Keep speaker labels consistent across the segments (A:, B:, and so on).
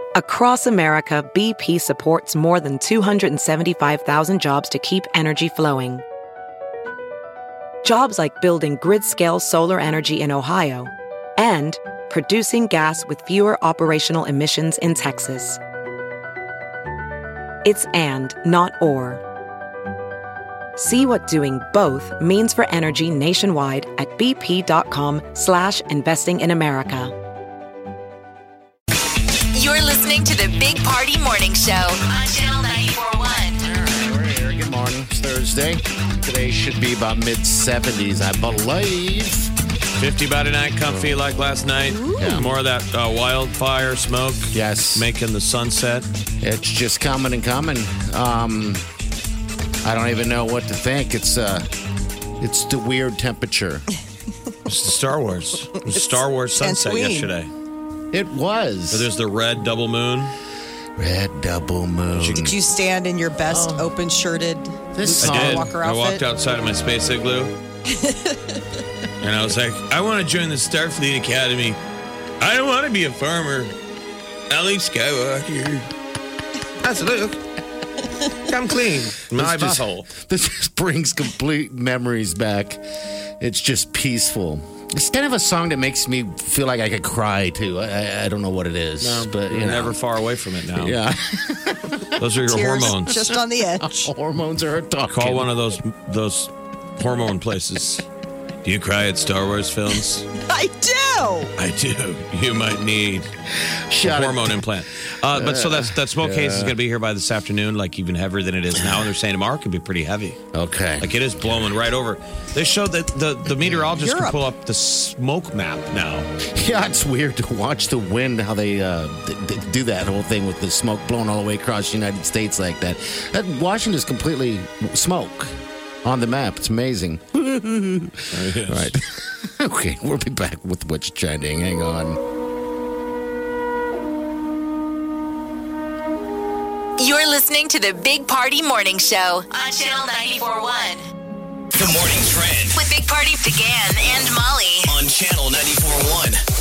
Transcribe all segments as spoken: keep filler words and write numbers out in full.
A: Across America, B P supports more than two hundred seventy-five thousand jobs to keep energy flowing. Jobs like building grid-scale solar energy in Ohio and producing gas with fewer operational emissions in Texas. It's and, not or. See what doing both means for energy nationwide at bp.com slash investing in America.
B: You're listening to the Big Party Morning Show on Channel ninety-four point one.
C: All right, we're here. Good morning. It's Thursday. Today should be about mid seventies, I believe.
D: fifty by tonight, comfy like last night.
C: Yeah.
D: More of that uh, wildfire smoke.
C: Yes.
D: Making the sunset.
C: It's just coming and coming. Um, I don't even know what to think. It's uh, it's the weird temperature.
D: It's the Star Wars. It was Star Wars sunset
E: Tatooine.
D: yesterday.
C: It was.
D: So there's the red double moon.
C: Red double moon.
E: Did you stand in your best
C: Oh.
E: open-shirted
C: This
E: Luke
D: I did.
E: Skywalker
D: I
E: outfit?
D: walked outside of my space igloo. And I was like, I want to join the Starfleet Academy. I don't want to be a farmer. I'm Luke Skywalker. That's Luke. Come clean. My
C: This just-
D: butthole.
C: This just brings complete memories back. It's just peaceful. It's kind of a song that makes me feel like I could cry too. I, I, I don't know what it is, but you
D: You're
C: know.
D: never far away from it now.
C: Yeah,
D: Those are your
E: Tears
D: hormones.
E: just on the edge.
C: hormones are talking.
D: Call one of those those hormone places. Do you cry at Star Wars films?
E: I do.
D: I do. You might need
C: Shut
D: a
C: it.
D: hormone implant. Uh, but so that's that smoke case is going to be here by this afternoon, like even heavier than it is now. And they're saying tomorrow could be pretty heavy.
C: Okay.
D: Like it is blowing right over. They showed that the, the meteorologist can
E: Europe.
D: pull up the smoke map now.
C: Yeah, it's weird to watch the wind, how they uh, th- th- do that whole thing with the smoke blowing all the way across the United States like that. that Washington's completely smoke on the map. It's amazing. Right. Okay, we'll be back with what's trending. Hang on.
B: You're listening to the Big Party Morning Show on Channel ninety-four point one.
F: The morning trend
B: With Big Party began and Molly.
F: on Channel ninety-four point one.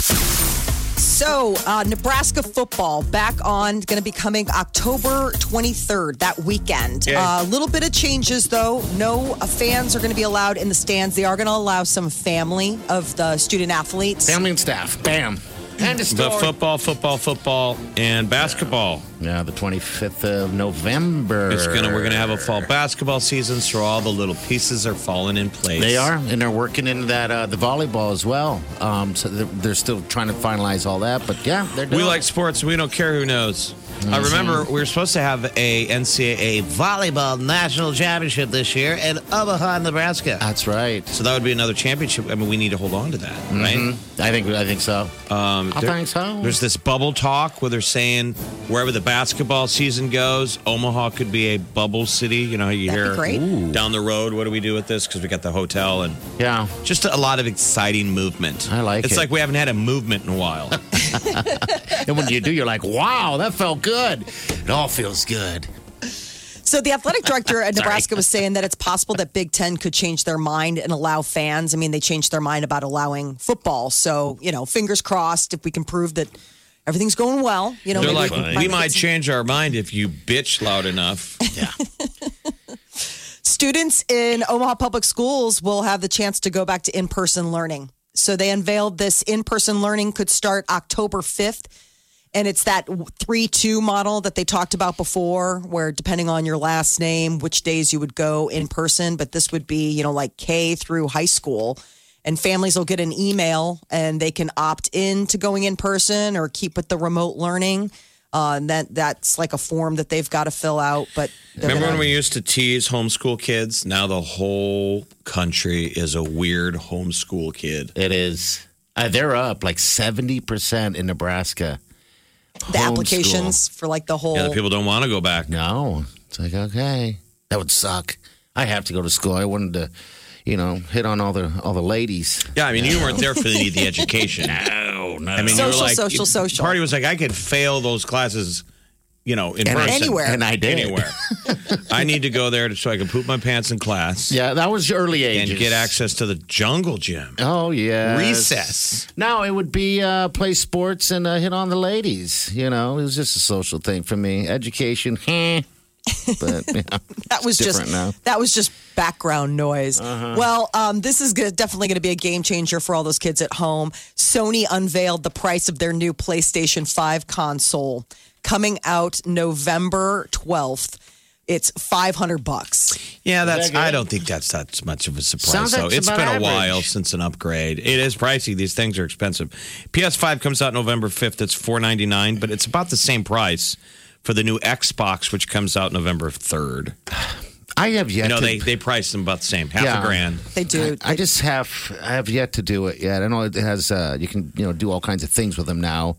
E: So, uh, Nebraska football back on, going to be coming October twenty-third, that weekend. A
D: Yeah.
E: uh, little bit of changes, though. No uh, fans are going to be allowed in the stands. They are going to allow some family of the student athletes.
C: Family and staff. Bam. And the
D: The
C: story.
D: football, football, football, and basketball.
C: Yeah, the twenty-fifth of November.
D: It's gonna. We're gonna have a fall basketball season, so all the little pieces are falling in place.
C: They are, and they're working into that uh, the volleyball as well. Um, so they're, they're still trying to finalize all that, but yeah, they're doing
D: We like sports. We don't care who knows. I remember we were supposed to have a N C double A volleyball national championship this year in Omaha, Nebraska.
C: That's right.
D: So that would be another championship. I mean, we need to hold on to that, right?
C: Mhm. I think I think so.
D: Um,
C: I
D: there-
C: think so.
D: There's this bubble talk where they're saying wherever the basketball season goes, Omaha could be a bubble city. You know how you
E: That'd be
D: hear
E: great.
D: down the road, what do we do with this? Because we got the hotel and
C: Yeah.
D: just a lot of exciting movement.
C: I like
D: it's
C: it.
D: like we haven't had a movement in a while.
C: And when you do, you're like, wow, that felt good. It all feels good.
E: So the athletic director at Nebraska was saying that it's possible that Big Ten could change their mind and allow fans. I mean, they changed their mind about allowing football. So, you know, fingers crossed if we can prove that everything's going well. You know,
D: They're
E: maybe
D: like,
E: can
D: we
E: finally
D: might
E: get some-
D: change our mind if you bitch loud enough.
C: Yeah.
E: Students in Omaha Public Schools will have the chance to go back to in-person learning. So they unveiled this in-person learning could start October fifth. And it's that three two model that they talked about before, where depending on your last name, which days you would go in person. But this would be, you know, like K through high school. And families will get an email and they can opt in to going in person or keep with the remote learning. Uh, and that that's like a form that they've got to fill out. But they're
D: Remember
E: gonna-
D: when we used to tease homeschool kids? Now the whole country is a weird homeschool kid.
C: It is. Uh, they're up like seventy percent in Nebraska.
E: the
C: Homeschool.
E: applications for like the whole.
D: Yeah, the people don't want to go back.
C: No. It's like, okay. That would suck. I have to go to school. I wanted to, you know, hit on all the all the ladies.
D: Yeah, I mean, you weren't there for the, the education.
C: No, no.
D: I mean, you
E: Social,
D: were like,
E: social, social.
D: Party was like, I could fail those classes you know, in
C: And I-
D: person.
E: Anywhere.
C: And I did.
D: Anywhere. I need to go there to, so I can poop my pants in class
C: Yeah, that was early ages.
D: and get access to the jungle gym.
C: Oh, yeah.
D: Recess.
C: No, it would be uh, play sports and uh, hit on the ladies. You know, it was just a social thing for me. Education, eh. But you know,
E: That was
C: it's
E: just
C: different now.
E: that was just background noise. Well, um, this is good, definitely going to be a game changer for all those kids at home. Sony unveiled the price of their new PlayStation five console coming out November twelfth. It's five hundred bucks.
D: Yeah, that's.
C: that good?
D: I don't think that's that much of a surprise.
C: Sounds like
D: though.
C: it's
D: It's
C: about
D: been a
C: average.
D: while since an upgrade. It is pricey. These things are expensive. P S five comes out November fifth. It's four ninety-nine, but it's about the same price for the new Xbox, which comes out November third.
C: I have yet
D: You know,
C: to.
D: they they price them about the same, half
C: Yeah.
D: a grand.
E: They do.
C: I, I just have I have yet to do it yet. I know it has uh, you can you know do all kinds of things with them now.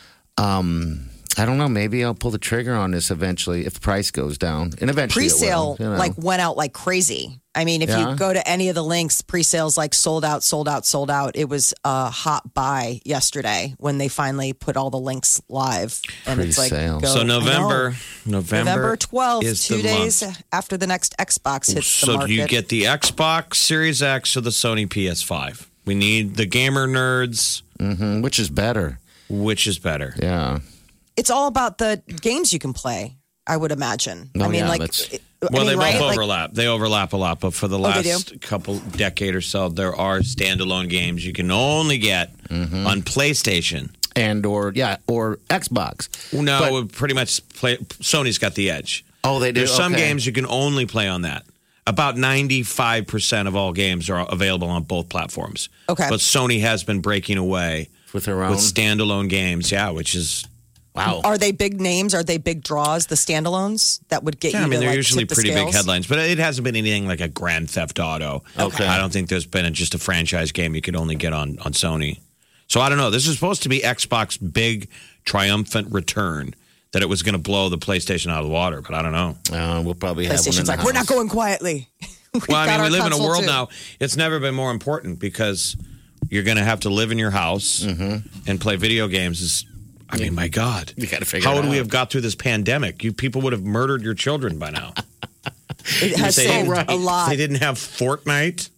C: Um, I don't know. Maybe I'll pull the trigger on this eventually if the price goes down, and eventually it
E: Pre-sale
C: will, you know.
E: like went out like crazy. I mean, if
C: Yeah.
E: you go to any of the links, pre-sales like sold out, sold out, sold out. It was a hot buy yesterday when they finally put all the links live, and it's like
C: Pre-sale.
E: go,
D: So
E: I know.
D: November, November,
E: November twelfth,
D: is
E: two
D: the
E: days
D: month.
E: after the next Xbox hits the
D: So
E: market.
D: do you get the Xbox Series X or the Sony P S five? We need the gamer nerds.
C: Mhm, which is better.
D: Which is better?
C: Yeah.
E: It's all about the games you can play, I would imagine.
C: Oh,
E: I mean,
C: yeah,
E: like,
C: that's-
E: I
D: Well,
E: mean,
D: they both
E: right? Like,
D: overlap. they overlap a lot, but for the
E: Oh, they do?
D: last couple decade or so, there are standalone games you can only get
C: Mm-hmm.
D: on PlayStation.
C: And or yeah or Xbox.
D: No,
C: But-
D: pretty much play, Sony's got the edge.
C: Oh, they do.
D: There's some
C: Okay.
D: games you can only play on that. About ninety-five percent of all games are available on both platforms.
E: Okay.
D: But Sony has been breaking away
C: with their own.
D: with standalone games, yeah, which is
C: Wow.
E: Are they big names? Are they big draws? The standalones that would get
D: Yeah,
E: you.
D: I mean,
E: to,
D: they're
E: like,
D: usually
E: tip the
D: pretty big
E: scales?
D: headlines, but it hasn't been anything like a Grand Theft Auto.
C: Okay.
D: I don't think there's been a, just a franchise game you could only get on, on Sony. So I don't know. This is supposed to be Xbox's big triumphant return, that it was going to blow the PlayStation out of the water, but I don't know.
C: Uh, we'll probably have one in
E: PlayStation's
C: the
E: like, we're not
C: house.
E: going quietly. We've
D: Well, I
E: got
D: mean, we
E: our
D: live in a
E: console
D: world
E: too.
D: now, it's never been more important because you're going to have to live in your house and play video games. Is I mean, my God.
C: You gotta figure
D: How
C: it
D: would we
C: out.
D: have got through this pandemic? You people would have murdered your children by now.
E: It has
D: They
E: saved
D: didn't-
E: a lot.
D: They didn't have Fortnite.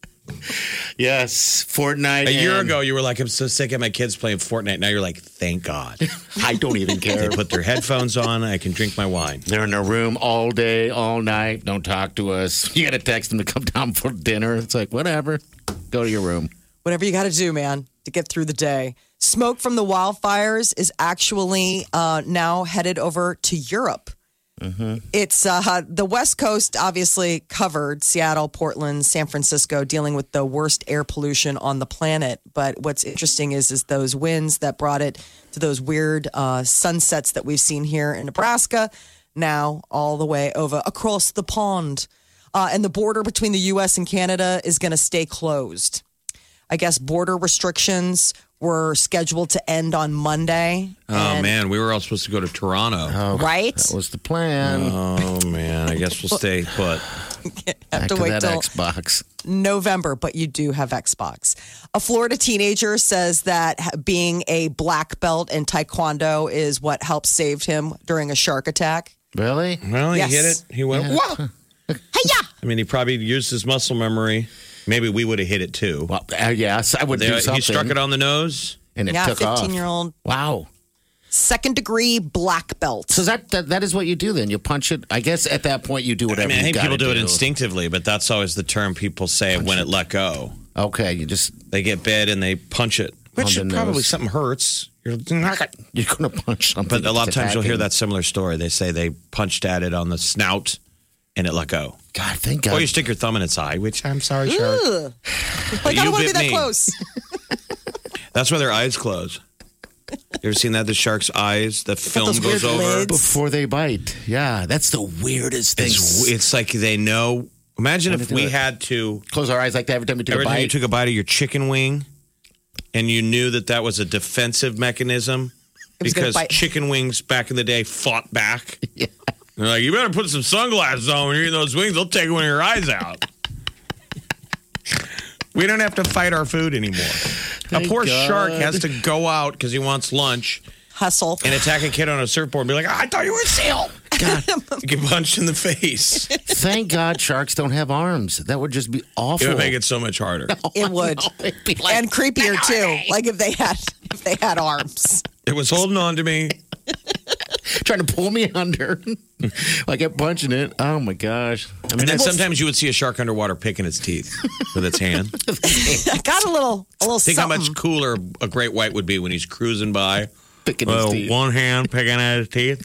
C: Yes, Fortnite.
D: A year
C: and-
D: ago, you were like, I'm so sick of my kids playing Fortnite. Now you're like, thank God.
C: I don't even
D: They
C: care.
D: put their headphones on. I can drink my wine.
C: They're in their room all day, all night. Don't talk to us. You got to text them to come down for dinner. It's like, whatever. Go to your room.
E: Whatever you got to do, man, to get through the day. Smoke from the wildfires is actually uh, now headed over to Europe. It's uh, the West Coast, obviously covered Seattle, Portland, San Francisco, dealing with the worst air pollution on the planet. But what's interesting is is those winds that brought it to those weird uh, sunsets that we've seen here in Nebraska, now all the way over across the pond. Uh, and the border between the U S and Canada is going to stay closed. I guess border restrictions were scheduled to end on Monday.
D: Oh,
E: And-
D: man. We were all supposed to go to Toronto.
E: Right?
C: That was the plan.
D: Oh, man. I guess we'll stay put.
E: Have
C: Back
E: to
C: to
E: wait
C: that
E: till
C: Xbox.
E: November, but you do have Xbox. A Florida teenager says that ha- being a black belt in Taekwondo is what helped save him during a shark attack.
C: Really?
D: Well, he
E: Yes.
D: hit it. He went, whoa.
E: Hey-ya!
D: I mean, he probably used his muscle memory. Maybe we would have hit it too.
C: Well, uh, yes, I would
D: They-
C: do something.
D: he struck it on the nose.
C: and it
E: Yeah,
C: took off.
E: fifteen-year-old
C: Wow.
E: second degree black belt.
C: So that, that that is what you do then. You punch it. I guess at that point you do
D: I
C: whatever
D: mean, I
C: you
D: think
C: gotta
D: people do it instinctively, but that's always the term people say when it let go.
C: Okay, you just
D: They get bit and they punch it, which
C: On the
D: probably
C: nose.
D: something hurts. You're not
C: you're gonna punch something.
D: But a lot of
C: that's
D: times you'll hear
C: attacking.
D: that similar story. They say they punched at it on the snout and it let go.
C: God, thank God.
D: Or you stick your thumb in its eye, which I'm sorry, shark.
E: Ugh. Like, I
D: you
E: don't want to be
D: bit
E: that
D: me.
E: close.
D: That's why their eyes close. You ever seen that? The shark's eyes, the film
E: those
D: goes
E: weird
D: over.
E: lids.
C: Before they bite. Yeah, that's the weirdest thing.
D: It's, it's like they know. Imagine
C: When
D: if
C: they do
D: we
C: it.
D: had to,
C: Close our eyes like that every time we take
D: every
C: a
D: time you
C: bite.
D: took a bite of your chicken wing and you knew that that was a defensive mechanism
E: was gonna
D: because
E: bite.
D: chicken wings back in the day fought back.
C: Yeah.
D: They're like, you better put some sunglasses on when you're eating those wings. They'll take one of your eyes out. We don't have to fight our food anymore. a poor
C: God.
D: shark has to go out because he wants lunch
E: hustle.
D: And attack a kid on a surfboard and be like, I thought you were a seal. God. You get punched in the face.
C: Thank God sharks don't have arms. That would just be awful.
D: It would make it so much harder.
E: It would.
C: It'd be like-
E: And creepier too. Like if they had if they had arms.
D: It was holding on to me.
C: trying to pull me under. I kept punching it. Oh my gosh. I mean,
D: And then
C: that's-
D: sometimes you would see a shark underwater picking its teeth with its hand.
E: I got a little a little
D: Think
E: something.
D: how much cooler a great white would be when he's cruising by.
C: picking his
D: Well,
C: teeth.
D: one hand picking at his teeth.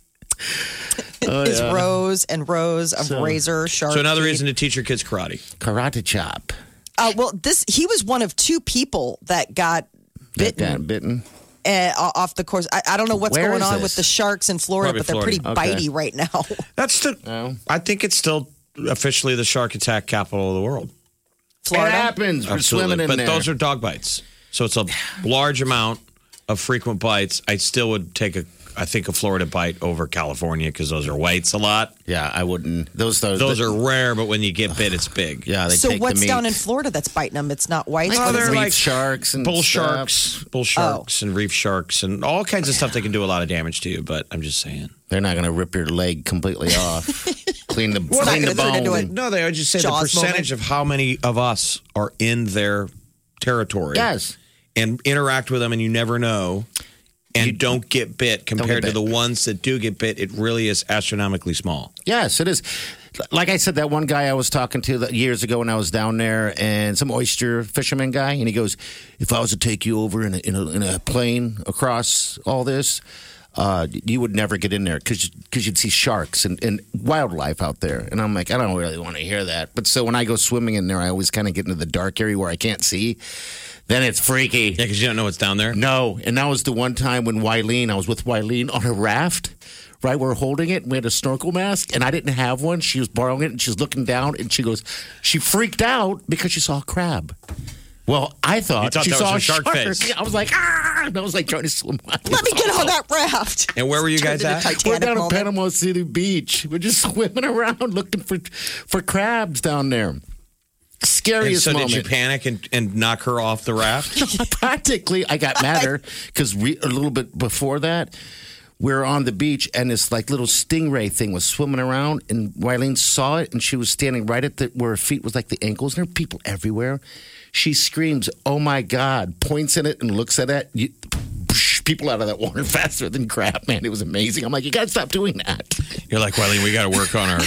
C: Oh,
E: Is
C: yeah.
E: rows and rows of
C: So-
E: razor sharp.
D: So another
E: teeth.
D: reason to teach your kids karate.
C: Karate chop.
E: Uh, well, this he was one of two people that got
C: That
E: bitten
C: got bitten.
E: uh, off the course. I, I don't know what's
C: Where
E: going
C: is
E: on
C: this?
E: with the sharks in Florida,
D: Probably
E: but they're
D: Florida.
E: pretty
C: Okay.
E: bitey right now.
D: That's the.
C: Oh.
D: I think it's still officially the shark attack capital of the world.
C: It
E: Florida.
C: happens. We're
D: Absolutely.
C: swimming in
D: but
C: there.
D: those are dog bites. So it's a large amount of frequent bites. I still would take a, I think, a Florida bite over California because those are whites a lot.
C: yeah, I wouldn't. Those those,
D: Those are rare, but when you get bit, it's big.
C: Yeah, they
E: So
C: take
E: what's
C: the meat.
E: down in Florida that's biting them? It's not white.
D: Oh,
E: What
D: they're
E: is it?
C: reef
D: like
C: sharks and
D: bull
C: stuff.
D: sharks, bull sharks, and reef sharks, and all kinds of stuff that can do a lot of damage to you. But I'm just saying.
C: They're not going to rip your leg completely off. clean the
E: Well,
C: clean
E: not
C: the
E: gonna turn into
C: bone.
E: a-
D: No, they would just say the
E: Jaws
D: percentage of how many of us are in their territory.
C: Yes.
D: And interact with them, and you never know. And
C: You-
D: don't get bit compared
C: get
D: to the
C: bit.
D: ones that do get bit. It really is astronomically small.
C: Yes, it is. Like I said, that one guy I was talking to that years ago when I was down there, and some oyster fisherman guy, and he goes, "If I was to take you over in a, in a, in a plane across all this, uh, you would never get in there because you'd see sharks and, and wildlife out there." And I'm like, I don't really want to hear that. But so when I go swimming in there, I always kind of get into the dark area where I can't see. Then it's freaky.
D: Yeah, because you don't know what's down there.
C: No, and that was the one time when Wileen, I was with Wileen on a raft, right? We were holding it, and we had a snorkel mask, and I didn't have one. She was borrowing it, and she was looking down, and she goes, she freaked out because she saw a crab. Well, I thought,
D: You thought
C: she
D: that
C: saw
D: was
C: a
D: a shark face.
C: Yeah, I was like, ah! And I was like trying to swim.
E: Let me get on that raft.
D: And where were you
E: Turned
D: guys
E: into
D: at?
C: We're
E: Titanic
C: down at
E: moment.
C: Panama City Beach. We're just swimming around looking for for crabs down there.
D: And
C: Scariest
D: so
C: moment.
D: did you panic and, and knock her off the raft?
C: Practically, I got madder because re- a little bit before that, we were on the beach and this like little stingray thing was swimming around, and Wileen saw it, and she was standing right at the where her feet was like the ankles, and there were people everywhere. She screams, "Oh my God!" Points at it and looks at it. You, people out of that water faster than crap, man. It was amazing. I'm like, you got to stop doing that.
D: You're like, Wileen, we got to work on our,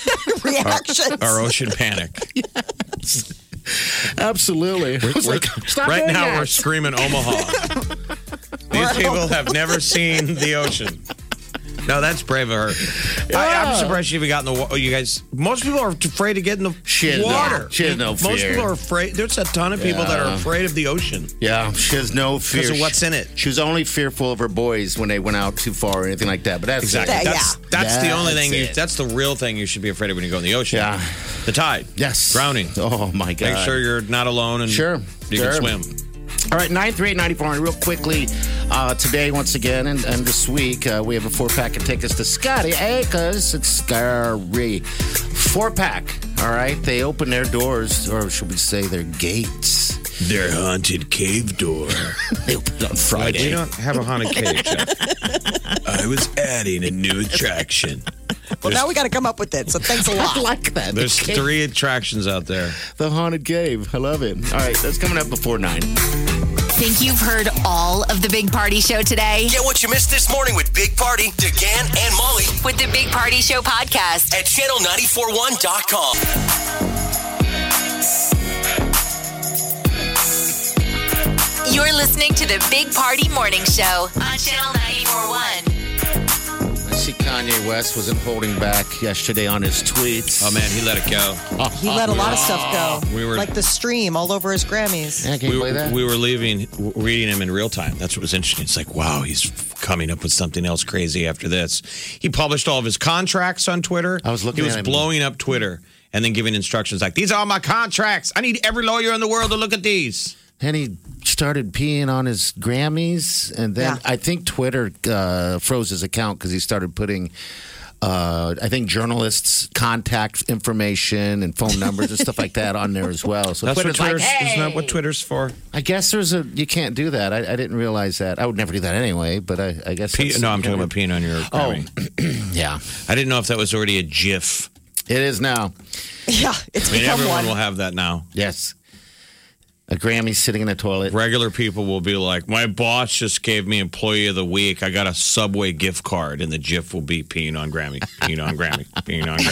E: Reactions.
D: our ocean panic.
C: Absolutely. I was
D: We're-
C: like, stop
D: right
C: doing
D: now,
C: that.
D: we're screaming Omaha. These people have never seen the ocean. No, that's brave of her. I, I'm surprised you even got in the water. You guys, most people are afraid to get in the
C: She has no-
D: water.
C: she has no
D: Most
C: fear.
D: people are afraid. There's a ton of people that are
C: Yeah.
D: afraid of the ocean.
C: Yeah, she has no fear.
D: Because of what's in it.
C: She was only fearful of her boys when they went out too far or anything like that. But that's
D: Exactly.
E: Yeah,
D: That's,
E: yeah.
D: that's the only
C: That's
D: thing. You,
C: it.
D: that's the real thing you should be afraid of when you go in the ocean.
C: Yeah.
D: The tide.
C: Yes.
D: Drowning.
C: Oh, my God.
D: Make sure you're not alone and
C: Sure.
D: you
C: Sure.
D: can swim.
C: All right, nine three eight, nine four hundred. Real quickly, uh, today, once again, and, and this week, uh, we have a four-pack of tickets to Scotty Acres. It's scary. Four-pack, all right? They open their doors, or should we say their gates.
D: Their haunted cave door.
C: They open it on
D: We
C: Friday.
D: don't have a haunted cave, Jeff. I was adding a new attraction.
E: Well, now we got to come up with it. So thanks a
C: I
E: lot.
C: like that.
D: There's
C: the, cave-
D: three attractions out there.
C: the haunted cave. I love it. All right, that's coming up before nine.
B: Think you've heard all of the Big Party Show today?
F: Get what you missed this morning with Big Party, DeGan, and Molly
B: With the Big Party Show podcast.
F: at channel nine four one dot com.
B: You're listening to the Big Party Morning Show on Channel ninety-four point one.
C: I see Kanye West wasn't holding back yesterday on his tweets.
D: Oh, man, he let it go.
E: He let a lot of stuff go.
D: We were-
E: like the stream all over his Grammys.
C: Yeah, can you
D: We,
C: play that?
D: we were leaving, reading him in real time. That's what was interesting. It's like, wow, he's coming up with something else crazy after this. He published all of his contracts on Twitter.
C: I was looking
D: He was
C: at him.
D: blowing up Twitter and then giving instructions like, these are all my contracts. I need every lawyer in the world to look at these.
C: And he started peeing on his Grammys. And then
E: Yeah.
C: I think Twitter uh, froze his account because he started putting uh, I think journalists' contact information and phone numbers and stuff like that on there as well. So
D: That's
C: Twitter's
D: what Twitter's,
C: like, hey!
D: isn't that what Twitter's for?
C: I guess there's a you can't do that. I, I didn't realize that. I would never do that anyway. But I, I guess
D: P-
C: that's-
D: no, I'm talking about peeing on your
C: Oh,
D: Grammy.
C: yeah,
D: I didn't know if that was already a GIF.
C: it is now.
E: Yeah, it's
D: I mean,
E: become
D: everyone
E: one.
D: will have that now.
C: Yes, a Grammy sitting in a toilet.
D: Regular people will be like, my boss just gave me Employee of the Week. I got a Subway gift card, and the GIF will be peeing on Grammy, peeing on Grammy, peeing on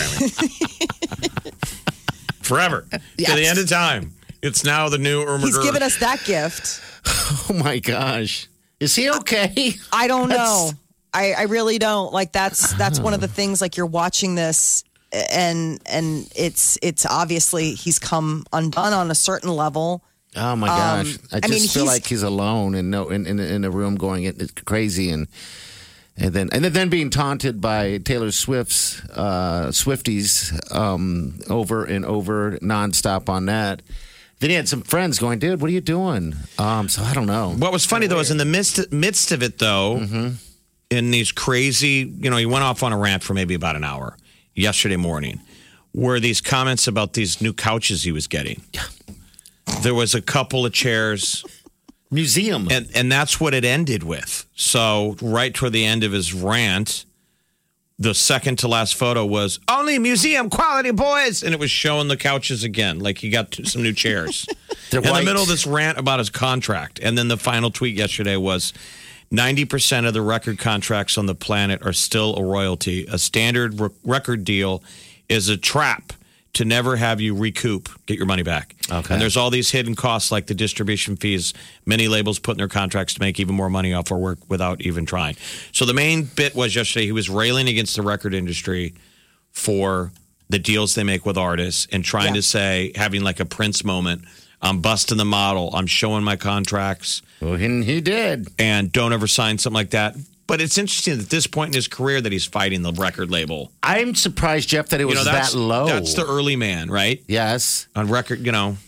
D: Grammy. Forever.
C: Yes.
D: To the end of time. It's now the new Irma
E: He's
D: Gerd.
E: given us that gift.
C: Oh my gosh, is he okay?
E: I don't know.
C: That's-
E: I, I really don't. Like that's that's one of the things. Like you're watching this, and and it's it's obviously he's come undone on a certain level.
C: Oh my gosh! I
E: I
C: just
E: mean,
C: feel
E: he's-
C: like he's alone and no in, in in a room going it, it's crazy and and then and then being taunted by Taylor Swift's uh, Swifties um, over and over nonstop on that. Then he had some friends going, "Dude, what are you doing?" Um, so I don't know.
D: What was funny, though, is in the midst, midst of it, though,
C: Mm-hmm.
D: in these crazy, you know, he went off on a rant for maybe about an hour yesterday morning, were these comments about these new couches he was getting. There was a couple of chairs,
C: Museum.
D: and, and that's what it ended with. So, right toward the end of his rant, the second to last photo was only museum quality, boys. And it was showing the couches again, like he got some new chairs.
C: They're
D: in
C: white.
D: the middle of this rant about his contract. And then the final tweet yesterday was ninety percent of the record contracts on the planet are still a royalty. A standard re- record deal is a trap to never have you recoup, get your money back.
C: Okay.
D: And there's all these hidden costs like the distribution fees many labels put in their contracts to make even more money off our work without even trying. So the main bit was yesterday he was railing against the record industry for the deals they make with artists and trying
E: Yeah.
D: to say, having like a Prince moment, I'm busting the model, I'm showing my contracts,
C: Well, and he did.
D: and don't ever sign something like that. But it's interesting at this point in his career that he's fighting the record label.
C: I'm surprised, Jeff, that it was
D: you know, that's,
C: that low.
D: That's the early man, right?
C: yes.
D: On record, you know.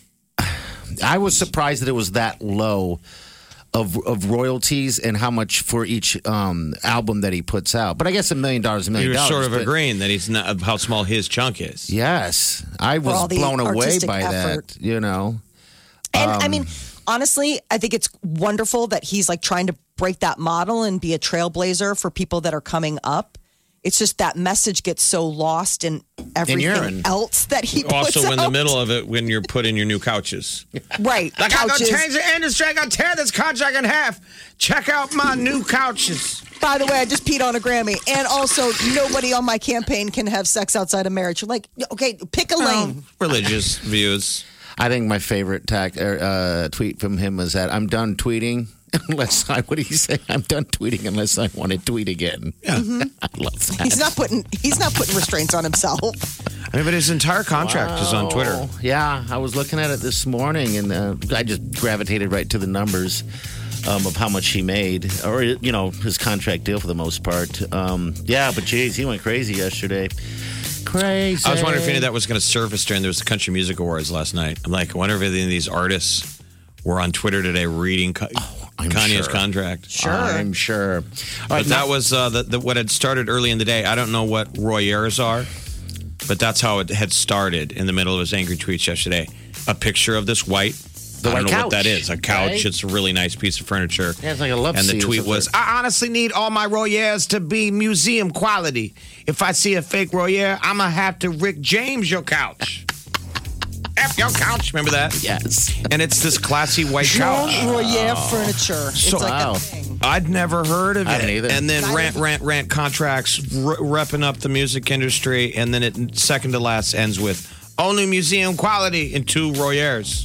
C: I was surprised that it was that low of of royalties and how much for each um, album that he puts out. But I guess a million dollars, a
D: He
C: million
D: was
C: dollars.
D: sort of
C: but-
D: agreeing that he's not how small his chunk is.
C: Yes, I
E: all
C: was
E: the
C: blown away
E: artistic
C: by
E: effort.
C: that. You know,
E: And
C: Um,
E: I mean, honestly, I think it's wonderful that he's like trying to break that model and be a trailblazer for people that are coming up. It's just that message gets so lost in everything
C: urine.
E: else that he puts
D: Also, in the
E: out.
D: middle of it, when you're putting your new couches.
E: Right.
D: Like, I'm going to
E: couches.
D: change the industry. I'm going to tear this contract in half. Check out my new couches.
E: By the way, I just peed on a Grammy. And also, nobody on my campaign can have sex outside of marriage. You're like, okay, pick a lane.
D: Religious views.
C: I think my favorite tac- er, uh, tweet from him was that I'm done tweeting unless I. What did he say? I'm done tweeting unless I want to tweet again.
D: Yeah.
C: I love that.
E: He's not putting he's not putting restraints on himself.
D: I mean, but his entire contract is on Twitter.
C: Oh, yeah, I was looking at it this morning, and uh, I just gravitated right to the numbers um, of how much he made, or you know, his contract deal for the most part. Um, yeah, but geez, he went crazy yesterday. Crazy.
D: I was wondering if any of that was going to surface during there was the Country Music Awards last night. I'm like, I wonder if any of these artists were on Twitter today reading Ka-
C: I'm
D: Kanye's
C: sure.
D: contract.
E: Sure.
C: I'm sure. All
D: But
C: right,
D: that
C: now-
D: was uh, the, the, what had started early in the day. I don't know what Royers are, but that's how it had started in the middle of his angry tweets yesterday. A picture of this white,
C: The
D: I don't
C: white
D: know what that
C: couch,
D: is, a couch.
C: right?
D: It's a really nice piece of furniture.
C: Yeah, it's like a love
D: And the
C: seat or
D: tweet was,
C: something.
D: I honestly need all my Royers to be museum quality. If I see a fake Royer, I'm going to have to Rick James your couch. F your couch. Remember that?
C: Yes.
D: And it's this classy white
E: Jean
D: couch.
E: Royer furniture. It's
D: So-
E: like
C: Wow.
E: a thing.
D: I'd never heard of
C: I
D: it.
C: haven't either.
D: And then
E: Neither.
D: rant, rant, rant contracts, r- repping up the music industry. And then it second to last ends with only museum quality in two Royers.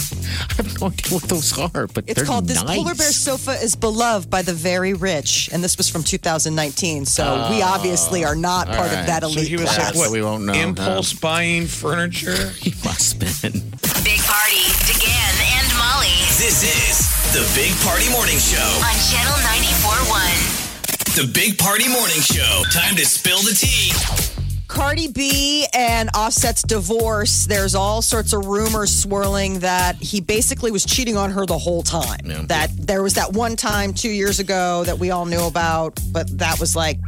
C: I have no idea what those are, but
E: It's
C: they're
E: called
C: nice.
E: This Polar Bear Sofa is Beloved by the Very Rich. And this was from two thousand nineteen. So we obviously are not
C: all
E: part
C: right.
E: of that
D: So
E: elite
D: he was
E: class.
D: like, what?
C: So we won't know,
D: Impulse buying furniture?
C: He must have been.
B: Big Party, DeGan and Molly
F: This is the Big Party Morning Show.
B: on Channel ninety-four point one.
F: The Big Party Morning Show. Time to spill the tea.
E: Cardi B and Offset's divorce, there's all sorts of rumors swirling that he basically was cheating on her the whole time.
C: Yeah.
E: That there was that one time two years ago that we all knew about, but that was like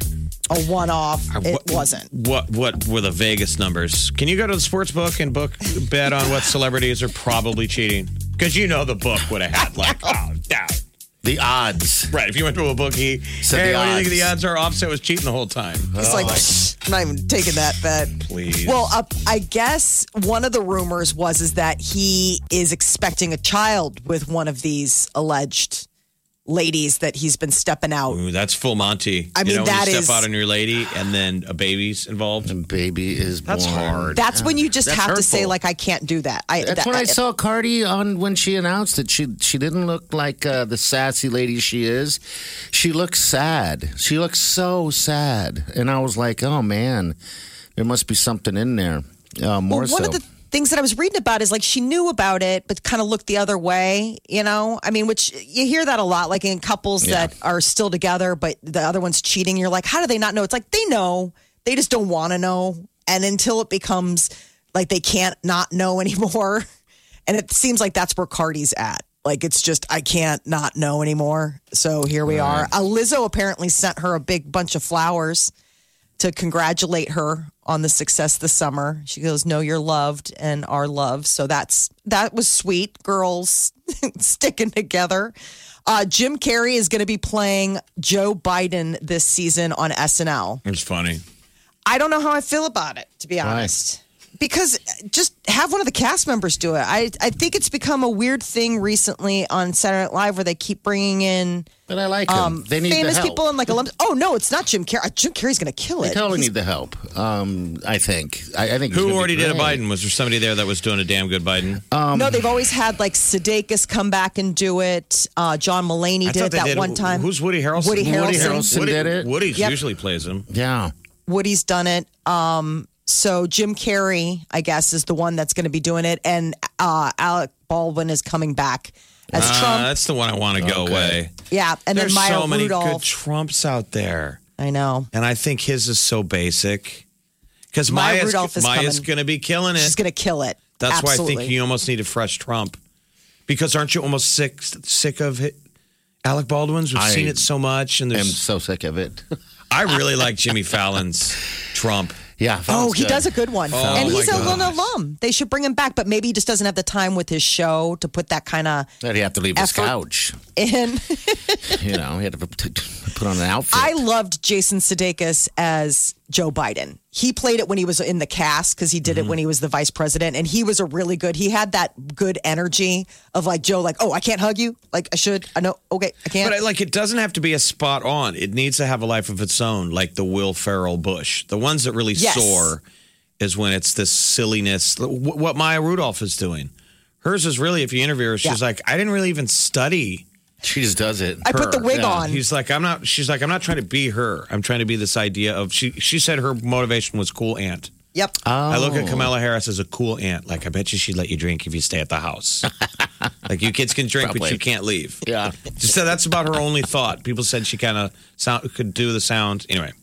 E: a one-off.
D: Uh,
E: It
D: what-
E: wasn't.
D: What what were the Vegas numbers? Can you go to the sports book and book bet on what celebrities are probably cheating? Because you know the book would have had like, oh, down.
C: The odds.
D: Right. If you went to a bookie,
C: So
D: hey,
C: the
D: what do you think
C: odds.
D: the odds are? Offset was cheating the whole time.
E: It's like, psh, I'm not even taking that bet.
D: Please.
E: Well, uh, I guess one of the rumors was is that he is expecting a child with one of these alleged ladies that he's been stepping out.
D: Ooh, that's full Monty.
E: I mean,
D: you know,
E: that
D: when you
E: is-
D: step out on your lady and then a baby's involved.
C: And baby is
D: That's
C: born.
D: hard.
E: That's when you just
C: That's
E: have to say,
C: hurtful.
E: like, I can't do that. I,
C: That's
E: that,
C: when I saw Cardi on when she announced it. She she didn't look like uh, the sassy lady she is. She looks sad. She looks so sad, and I was like, oh man, there must be something in there. Uh, more
E: Well, one
C: so.
E: of the things that I was reading about is like she knew about it, but kind of looked the other way, you know? I mean, which you hear that a lot, like in couples
C: Yeah.
E: that are still together, but the other one's cheating. You're like, how do they not know? It's like they know, they just don't want to know. And until it becomes like they can't not know anymore. And it seems like that's where Cardi's at. Like it's just, I can't not know anymore. So here we are. Uh, Lizzo apparently sent her a big bunch of flowers to congratulate her on the success this summer. She goes, "Know you're loved and are loved." So that's that was sweet. Girls sticking together. Uh, Jim Carrey is going to be playing Joe Biden this season on S N L.
D: It's funny.
E: I don't know how I feel about it, to be honest. Because just have one of the cast members do it. I I think it's become a weird thing recently on Saturday Night Live where they keep bringing in
C: but I like him.
E: um,
C: they need
E: famous
C: the help.
E: people and like alums. Oh no, it's not Jim Carrey. Jim Carrey's going to kill
C: They
E: it.
C: totally
E: He's-
C: need the help. Um, I think. I, I think. he's
D: Who
C: gonna be
D: already did a
C: great.
D: Biden? Was there somebody there that was doing a damn good Biden?
C: Um,
E: no, they've always had like Sudeikis come back and do it. Uh, John Mulaney
D: I
E: did
D: thought
E: it
D: they
E: that
D: did.
E: one time.
D: Who's Woody Harrelson?
E: Woody
C: Woody
E: Harrelson.
C: Harrelson
D: Woody,
C: did it.
D: Woody
E: Yep.
D: usually plays him.
C: Yeah.
E: Woody's done it. Um, so Jim Carrey, I guess, is the one that's going to be doing it, and uh, Alec Baldwin is coming back as
D: Ah,
E: Trump.
D: that's the one I want to go
C: Okay.
D: away.
E: Yeah, and
D: There's
E: then Maya
D: so many
E: Rudolph.
D: good Trumps out there.
E: I know.
D: And I think his is so basic. Because
E: Maya
D: Maya's,
E: Rudolph is
D: Maya's
E: coming.
D: going to be killing it.
E: She's going to kill it.
D: That's
E: Absolutely.
D: why I think you almost need a fresh Trump. Because aren't you almost sick sick of it? Alec Baldwin's? We've
C: I
D: seen it so much. And
C: I'm
D: there's,
C: so sick of it.
D: I really like Jimmy Fallon's Trump.
C: yeah.
E: Oh,
C: Fallon's
E: he
C: good.
E: does a good one.
D: Oh,
E: and
D: my
E: he's a
D: gosh.
E: little alum. They should bring him back, but maybe he just doesn't have the time with his show to put that kind of
C: That he have to leave his
E: effort.
C: couch.
E: in.
C: You know, he had to put put on an outfit.
E: I loved Jason Sudeikis as Joe Biden. He played it when he was in the cast because he did
C: Mm-hmm.
E: it when he was the vice president, and he was a really good. He had that good energy of like Joe, like, oh, I can't hug you, like I should. I know, okay, I can't.
D: But I, like, it doesn't have to be a spot on. It needs to have a life of its own, like the Will Ferrell Bush. The ones that really
E: Yes.
D: soar is when it's this silliness. Wh- What Maya Rudolph is doing. Hers is really, if you interview her, she's
E: Yeah.
D: like, I didn't really even study.
C: She just does it.
E: I put the
D: her.
E: wig
C: Yeah.
E: on.
D: He's like, I'm not. She's like, I'm not trying to be her. I'm trying to be this idea of. She. She said her motivation was cool aunt.
E: Yep.
C: Oh.
D: I look at Kamala Harris as a cool aunt. Like, I bet you she'd let you drink if you stay at the house. Like, you kids can drink, but
C: Probably.
D: you can't leave.
C: Yeah.
D: Just said that's about her only thought. People said she kind of sound could do the sound. Anyway.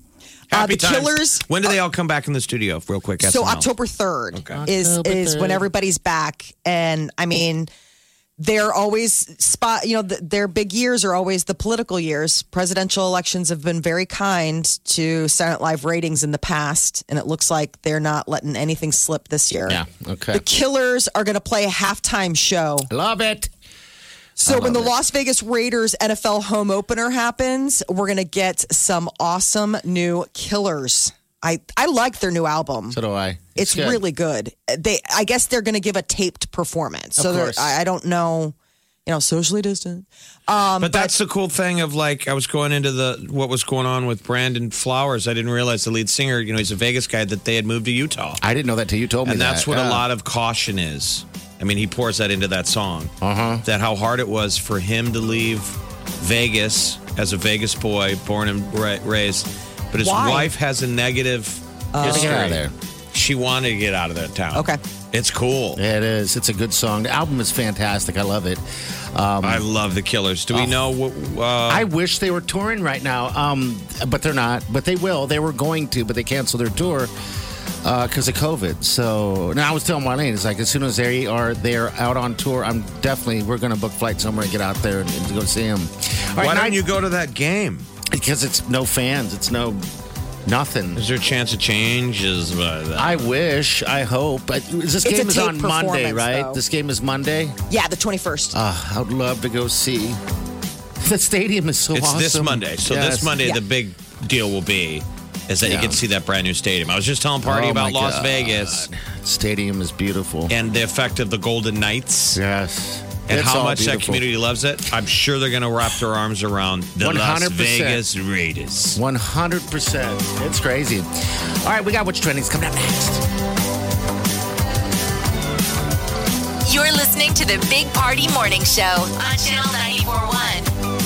D: Happy
E: Uh, the
D: times.
E: Killers-
D: When do they all come back in the studio? Real quick.
E: So
D: S N L.
E: October third
D: Okay.
E: is
C: October
E: is when
C: third.
E: everybody's back, and I mean, they're always spot. You know, th their big years are always the political years. Presidential elections have been very kind to Saturday Night Live ratings in the past, and it looks like they're not letting anything slip this year.
C: Yeah. Okay.
E: The Killers are going to play a halftime show.
C: Love it.
E: So when the
C: love it.
E: Las Vegas Raiders N F L home opener happens, we're going to get some awesome new Killers. I, I like their new album.
C: So do I.
E: It's
C: good.
E: really good. They, I guess they're going to give a taped performance.
C: Of
E: So they're-
C: course.
E: I, I don't know, you know, socially distant. Um,
D: But that's the cool thing of like I was going into the what was going on with Brandon Flowers. I didn't realize the lead singer, you know, he's a Vegas guy, that they had moved to Utah.
C: I didn't know that till you told me
D: And
C: that.
D: that's what
C: Yeah.
D: a lot of caution is. I mean, he pours that into that song.
C: Uh-huh.
D: That how hard it was for him to leave Vegas as a Vegas boy, born and ra- raised. But his
E: Why?
D: wife has a negative history.
C: Get out of there.
D: She wanted to get out of that town.
E: Okay.
D: It's cool.
C: Yeah, it is. It's a good song. The album is fantastic. I love it.
D: I love the Killers. Do we know what? Uh,
C: I wish they were touring right now, um, but they're not. But they will. They were going to, but they canceled their tour because of COVID. So now I was telling Marlene, it's like as soon as they are they're out on tour, I'm definitely we're going to book flights somewhere and get out there and, and go see them. All right,
D: why
C: nine-
D: don't you go to that game?
C: Because it's no fans. It's no nothing.
D: Is there a chance of change? Is uh,
C: I wish. I hope. But this
E: It's
C: game
E: a
C: is
E: tape
C: on Monday,
E: performance,
C: right?
E: though.
C: This game is Monday.
E: Yeah, the twenty-first.
C: Uh, I would love to go see. The stadium is so
D: it's
C: awesome.
D: this Monday. So
C: Yes.
D: this Monday,
E: Yeah.
D: the big deal will be is that you
C: Yeah.
D: get to see that brand new stadium. I was just telling Party
C: Oh,
D: about
C: my
D: Las
C: God.
D: Vegas
C: Stadium is beautiful.
D: and the effect of the Golden Knights.
C: Yes.
D: And
C: It's
D: how
C: all
D: much that
C: beautiful.
D: community loves it. I'm sure they're going to wrap their arms around the
C: one hundred
D: Las
C: percent.
D: Vegas Raiders.
C: one hundred percent. It's crazy. All right, we got What's Trending coming up next.
B: You're listening to the Big Party Morning Show on Channel ninety-four point one.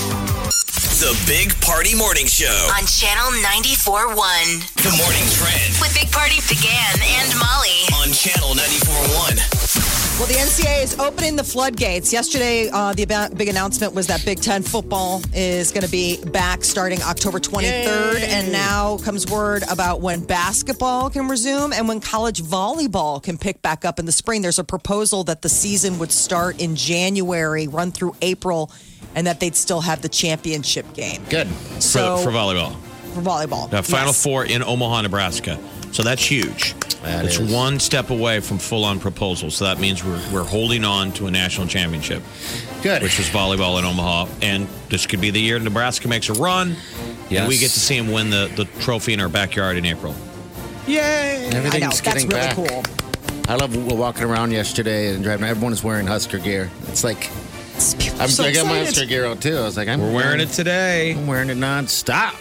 F: The Big Party Morning Show.
B: On Channel ninety-four point one.
F: The Morning Trend
B: With Big Party began and Molly.
F: on Channel ninety-four point one.
E: Well, the N C double A is opening the floodgates. Yesterday, uh, the about- big announcement was that Big Ten football is going to be back starting October twenty-third.
C: Yay.
E: And now comes word about when basketball can resume and when college volleyball can pick back up in the spring. There's a proposal that the season would start in January, run through April, and that they'd still have the championship game.
C: Good.
E: So,
D: for, for volleyball.
E: for volleyball.
D: The Final
E: Yes.
D: Four in Omaha, Nebraska. So that's huge.
C: That
D: it's
C: is.
D: one step away from full-on proposal. So that means we're we're holding on to a national championship,
C: Good.
D: which is volleyball in Omaha. And this could be the year Nebraska makes a run,
C: Yes.
D: and we get to see them win the, the trophy in our backyard in April.
E: I
C: Everything's
E: know. That's
C: getting
E: really
C: back.
E: cool.
C: I love walking around yesterday and driving. Everyone is wearing Husker gear. It's like I'm,
E: so
C: I got my
E: excited.
C: Husker gear out too. I was like, I'm
D: We're wearing it today.
C: I'm wearing it nonstop.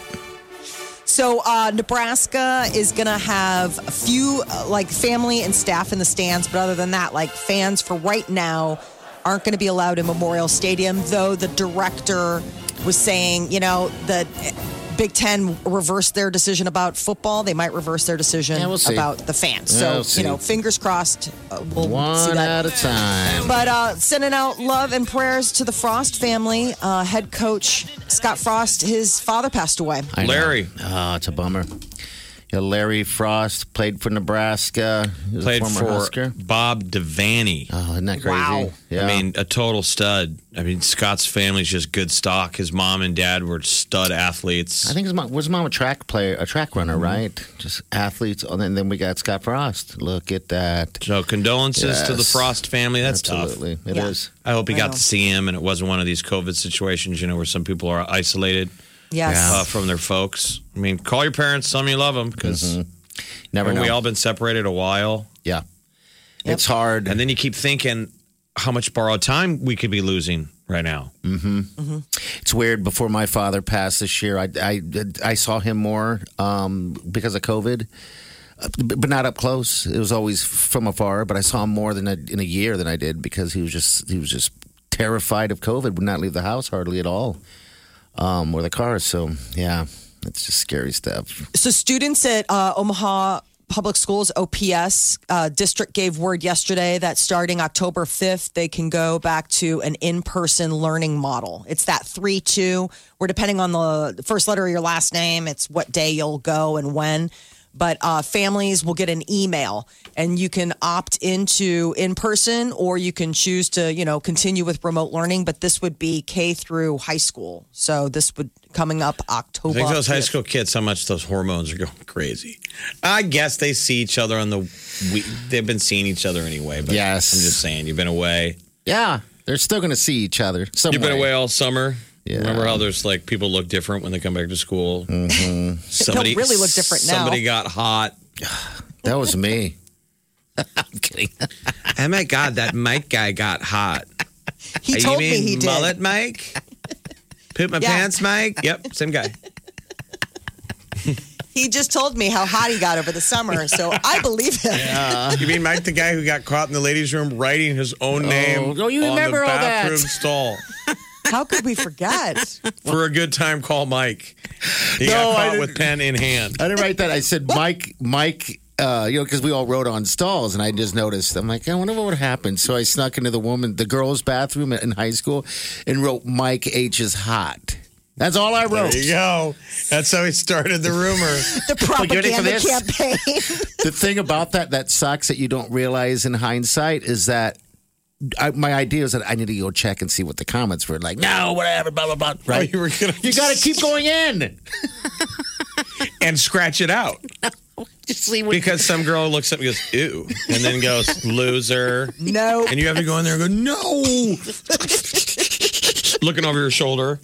E: So uh, Nebraska is going to have a few uh, like family and staff in the stands, but other than that, like fans for right now aren't going to be allowed in Memorial Stadium. Though the director was saying, you know, that Big Ten reversed their decision about football. They might reverse their decision
C: Yeah, we'll see.
E: about the fans.
C: Yeah,
E: So
C: we'll see.
E: you know, fingers crossed. Uh, we'll see
C: One
E: that.
C: at a time.
E: But uh, sending out love and prayers to the Frost family. Uh, head coach Scott Frost, his father passed away.
C: I know.
D: Larry.
C: Oh, it's a bummer. Yeah, Larry Frost played for Nebraska. He was a
D: Played
C: former
D: for
C: Husker.
D: Bob Devaney.
C: Oh, isn't that crazy?
E: Wow.
C: Yeah.
D: I mean, a total stud. I mean, Scott's family's just good stock. His mom and dad were stud athletes.
C: I think his mom was his mom a track player, a track runner, right? Just athletes. And then, then we got Scott Frost. Look at that.
D: So condolences to the
C: Yes.
D: Frost family. That's
C: Absolutely,
D: tough.
C: it is.
E: Yeah.
D: I hope he
E: I
D: got
E: know.
D: to see him, and it wasn't one of these COVID situations, you know, where some people are isolated
E: Yes.
D: uh, from their folks. I mean, call your parents, tell them you love them, because
C: Never know.
D: we all been separated a while,
C: yeah, it's hard.
D: and then you keep thinking how much borrowed time we could be losing right now.
C: It's weird. Before my father passed this year, I I, I saw him more um, because of COVID, uh, but not up close. It was always from afar. But I saw him more than I, in a year than I did because he was just he was just terrified of COVID. Would not leave the house hardly at all, um, or the car. So yeah, it's just scary stuff.
E: So students at uh, Omaha Public Schools, O P S uh, district gave word yesterday that starting October fifth, they can go back to an in-person learning model. It's that three two, where depending on the first letter of your last name, it's what day you'll go and when. But uh, families will get an email, and you can opt into in-person, or you can choose to, you know, continue with remote learning. But this would be K through high school. So this would coming up
D: I
E: October.
D: think those high
E: fifth.
D: school kids, how much those hormones are going crazy. I guess they see each other on the. We, they've been seeing each other anyway. But
C: Yes.
D: I'm just saying, you've been away.
C: Yeah, they're still going to see each other. Some
D: You've been
C: way.
D: away all summer.
C: Yeah.
D: Remember how there's like people look different when they come back to school? Mm-hmm. Somebody
E: really look different now.
D: Somebody got hot.
C: That was me. I'm kidding.
D: Oh my God, that Mike guy got hot.
E: He
D: you
E: told me
D: mean
E: he did.
D: mullet Mike? Poop my
E: Yeah.
D: pants Mike? Yep, same guy.
E: He just told me how hot he got over the summer, so I believe him.
D: You mean Mike, the guy who got caught in the ladies' room writing his own name
C: oh, you
D: on
C: remember
D: the
C: all that.
D: bathroom stall?
E: How could we forget?
D: For a good time, call Mike. He
C: No,
D: got
C: I
D: caught
C: didn't-
D: with pen in hand.
C: I didn't write that. I said Mike, Mike, uh, you know, because we all wrote on stalls, and I just noticed. I'm like, I wonder what would happen. So I snuck into the woman, the girls' bathroom in high school, and wrote Mike H is hot. That's all I wrote.
D: There you go. That's how he started the rumor.
E: The
C: you ready for
E: propaganda
C: this?
E: campaign.
C: The thing about that that sucks that you don't realize in hindsight is that I, my idea is that I need to go check and see what the comments were like. No, whatever, blah blah blah. Right?
D: Oh, you were gonna
C: you got to keep going in
D: and scratch it out.
C: Just see what.
D: Because some girl looks up and goes, ew, and then goes, loser.
E: No.
D: And you have to go in there and go, no. Looking over your shoulder.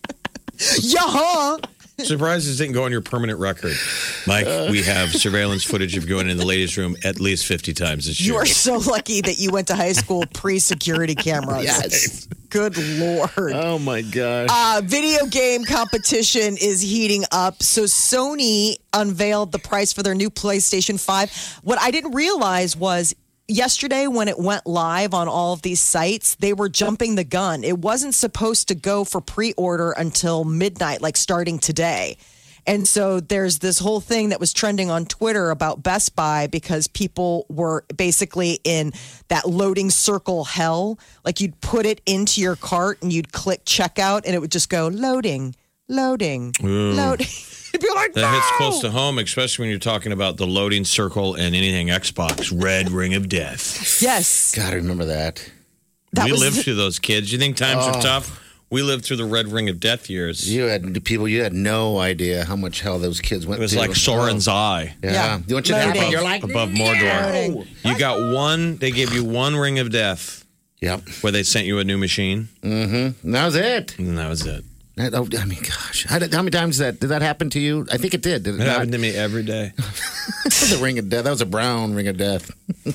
E: Yeah.
D: Surprised this didn't go on your permanent record. Mike, uh, we have surveillance footage of going in the ladies' room at least fifty times this year.
E: You are so lucky that you went to high school pre-security cameras.
C: Yes.
E: Good Lord.
C: Oh, my gosh.
E: Uh, video game competition is heating up. So Sony unveiled the price for their new PlayStation five. What I didn't realize was yesterday when it went live on all of these sites, they were jumping the gun. It wasn't supposed to go for pre-order until midnight, like starting today. And so there's this whole thing that was trending on Twitter about Best Buy because people were basically in that loading circle hell. Like you'd put it into your cart and you'd click checkout and it would just go loading, loading,
D: Ooh.
E: loading. You'd be like,
D: that
E: no!
D: hits close to home, especially when you're talking about the loading circle and anything Xbox. Red Ring of Death.
E: Yes.
C: Gotta remember that.
E: That
D: we
E: was
D: lived
E: the-
D: through those kids. You think times
C: Oh.
D: are tough? We lived through the Red Ring of Death years.
C: You had the people. You had no idea how much hell those kids went
D: It was
C: through.
D: like Soren's eye.
C: Yeah.
E: Yeah.
C: You want you to
E: Loading.
C: happen, you're like
D: Above
C: no!
D: Mordor. You got one, they gave you one Ring of Death
C: Yep.
D: where they sent you a new machine,
C: Mm-hmm. That was it.
D: and that was it.
C: That- oh, I mean, gosh, how, did, how many times did that did that happen to you? I think it did. Did it
D: It
C: not?
D: happened to me every day.
C: The ring of death. That was a brown ring of death.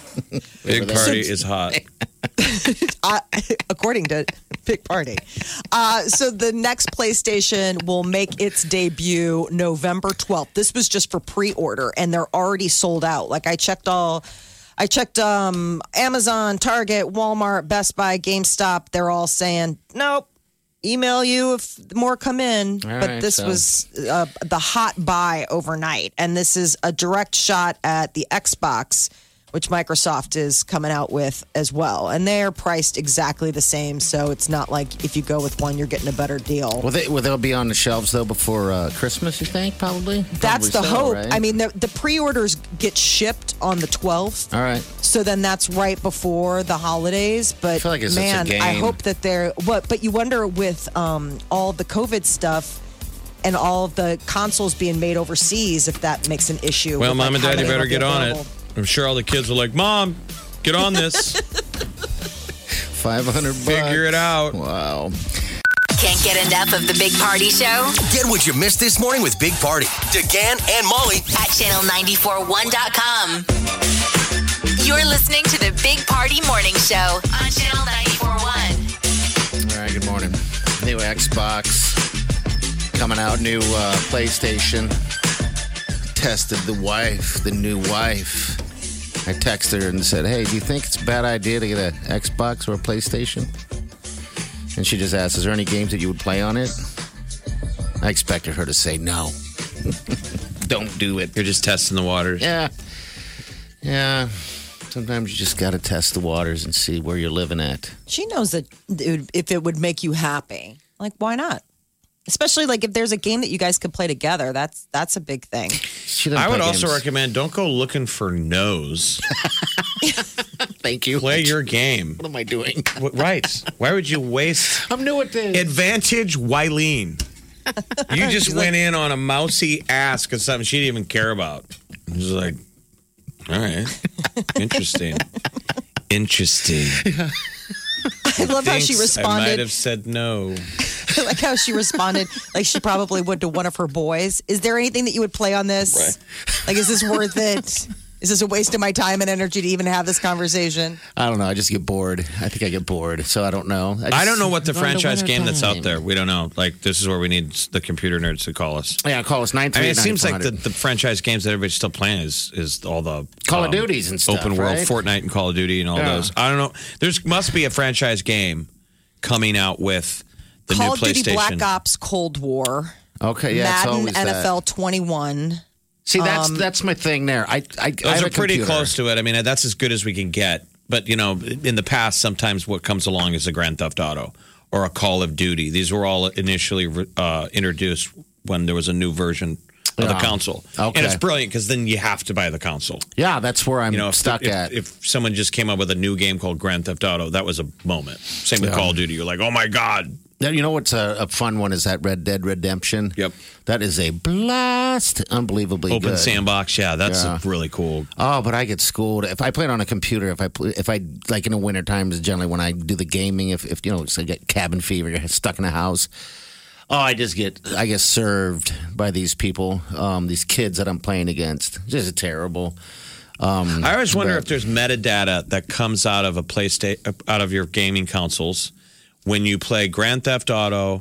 D: Big party is hot.
E: uh, according to Big Party. Uh, so the next PlayStation will make its debut November twelfth. This was just for pre-order, and they're already sold out. Like I checked all, I checked um, Amazon, Target, Walmart, Best Buy, GameStop. They're all saying nope. Email you if more come in.
C: All
E: but
C: right,
E: this
C: so-
E: was uh, the hot buy overnight, and this is a direct shot at the Xbox, which Microsoft is coming out with as well. And they're priced exactly the same. So it's not like if you go with one, you're getting a better deal.
C: Well, they, well, they'll be on the shelves, though, before uh, Christmas, you think, probably?
E: That's the
C: Probably so,
E: hope.
C: right?
E: I mean, the, the pre-orders get shipped on the twelfth.
C: All right.
E: So then that's right before the holidays. But
C: I feel like it's such a
E: man,
C: game.
E: I hope that they're what. But you wonder with um, all the COVID stuff and all of the consoles being made overseas, if that makes an issue.
D: Well,
E: with,
D: Mom
E: like,
D: and
E: how
D: Daddy
E: many
D: better
E: will be
D: get on it.
E: available.
D: I'm sure all the kids are like, Mom, get on this.
C: five hundred bucks.
D: Figure it out.
C: Wow.
B: Can't get enough of the Big Party Show
F: Get what you missed this morning with Big Party, DeGan and Molly
B: at channel nine four one dot com. You're listening to the Big Party Morning Show on channel nine four one.
C: All right, good morning. New Xbox coming out, new uh, PlayStation. Tested the wife, the new wife. I texted her and said, hey, do you think it's a bad idea to get an Xbox or a PlayStation? And she just asked, is there any games that you would play on it? I expected her to say no. Don't do it.
D: You're just testing the waters.
C: Yeah. Yeah. Sometimes you just got to test the waters and see where you're living at.
E: She knows that it would- if it would make you happy, like why not? Especially like if there's a game that you guys could play together, that's that's a big thing.
C: She doesn't
D: I would
C: play
D: also
C: games.
D: recommend don't go looking for no's.
C: Thank you.
D: Play your game.
C: What am I doing?
D: What- Right. Why would you waste
C: I'm new at this.
D: advantage Wileen? You just went in on a mousy ask of something she didn't even care about. I was like, all right. Interesting. Interesting.
E: I love how she
D: Thinks I might
E: responded.
D: have said no.
E: I like how she responded like she probably would to one of her boys. Is there anything that you would play on this?
D: Right.
E: Like, is this worth it? Is this a waste of my time and energy to even have this conversation?
C: I don't know. I just get bored. I think I get bored. So I don't know. just,
D: I don't know what the
C: Go on to
D: franchise
C: winter
D: game that's out
C: time.
D: there. We don't know. Like, this is where we need the computer nerds to call us.
C: Yeah, call us nine
D: I
C: three
D: mean,
C: eight
D: it seems like the,
C: nine four
D: the franchise games that everybody's still playing is is all the
C: Call of
D: um,
C: Duties and stuff,
D: open world,
C: right?
D: Fortnite and Call of Duty and all
C: Yeah.
D: those. I don't know. There's must be a franchise game coming out with the
E: Call
D: new
E: of Duty
D: PlayStation.
E: Black Ops Cold War.
C: Okay, yeah, it's
E: Madden
C: always
E: N F
C: that.
E: L twenty-one.
C: See, that's that's my thing there. I, I, I
D: Those
C: have
D: are
C: a
D: pretty
C: computer.
D: close to it. I mean, that's as good as we can get. But you know, in the past, sometimes what comes along is a Grand Theft Auto or a Call of Duty. These were all initially uh, introduced when there was a new version of the
C: Yeah.
D: console.
C: Okay.
D: And it's brilliant because then you have to buy the console.
C: Yeah, that's where I'm
D: You know, if,
C: stuck
D: if,
C: at.
D: if someone just came up with a new game called Grand Theft Auto, that was a moment. Same with
C: Yeah.
D: Call of Duty. You're like, oh my God.
C: Now, you know what's a, a fun one is that Red Dead Redemption.
D: Yep.
C: That is a blast. Unbelievably
D: Open
C: good.
D: sandbox. Yeah, that's
C: Yeah.
D: really cool.
C: Oh, but I get schooled if I play it on a computer. If I play, if I like in the winter times, generally when I do the gaming, if if you know, so I get cabin fever, you're stuck in a house. Oh, I just get I get served by these people, um, these kids that I'm playing against. Just terrible. Um,
D: I always wonder
C: but-
D: if there's metadata that comes out of a PlayStation, out of your gaming consoles when you play Grand Theft Auto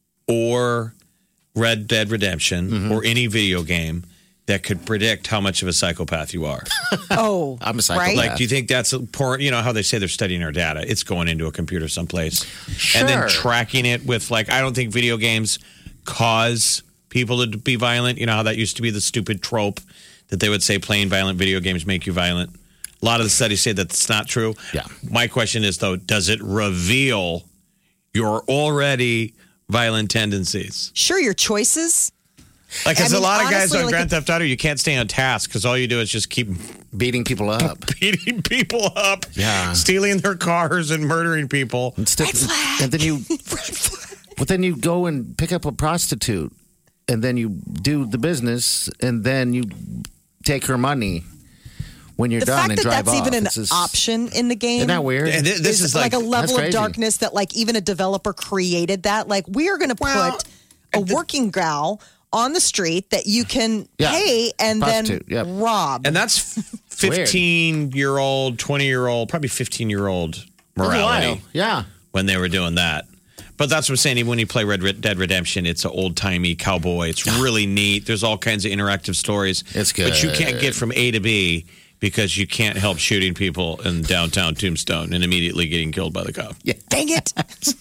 D: or Red Dead Redemption
C: Mm-hmm.
D: or any video game that could predict how much of a psychopath you are.
E: Oh,
C: I'm a psychopath.
E: right?
D: Like, do you think that's important? You know how they say they're studying our data? It's going into a computer someplace. And then
C: Sure.
D: tracking it with, like, I don't think video games cause people to be violent. You know how that used to be the stupid trope that they would say playing violent video games make you violent. A lot of the studies say that's not true.
C: Yeah.
D: My question is, though, does it reveal your already violent tendencies?
E: Sure, your choices.
D: Like, because
E: I
D: a
E: mean,
D: lot of guys
E: honestly,
D: on
E: like
D: Grand
E: a-
D: Theft Auto, you can't stay on task because all you do is just keep
C: beating people up.
D: beating people up,
C: Yeah.
D: stealing their cars and murdering people.
C: Instead,
E: Red flag.
C: and then you, but then you go and pick up a prostitute, and then you do the business, and then you take her money when you're
E: The
C: done
E: fact
C: and
E: that
C: drive
E: that's
C: off.
E: even an
C: It's just-
E: option in the game.
C: Isn't that weird?
D: And thi- this is like,
E: a level
C: That's
E: of
C: crazy.
E: darkness that like even a developer created that. Like we are going to
D: Well,
E: put a working gal on the street that you can
C: Yeah.
E: pay and then
C: Prostitute, yep.
E: rob.
D: and that's
C: weird.
D: fifteen year old, twenty year old, probably fifteen year old
C: That's
D: morality
C: wild. Yeah.
D: when they were doing that. But that's what I'm saying. Even when you play Red Red Dead Redemption, it's an old timey cowboy. It's really neat. There's all kinds of interactive stories.
C: It's
D: But you can't
C: good.
D: get from A to B because you can't help shooting people in downtown Tombstone and immediately getting killed by the cop.
E: Dang it.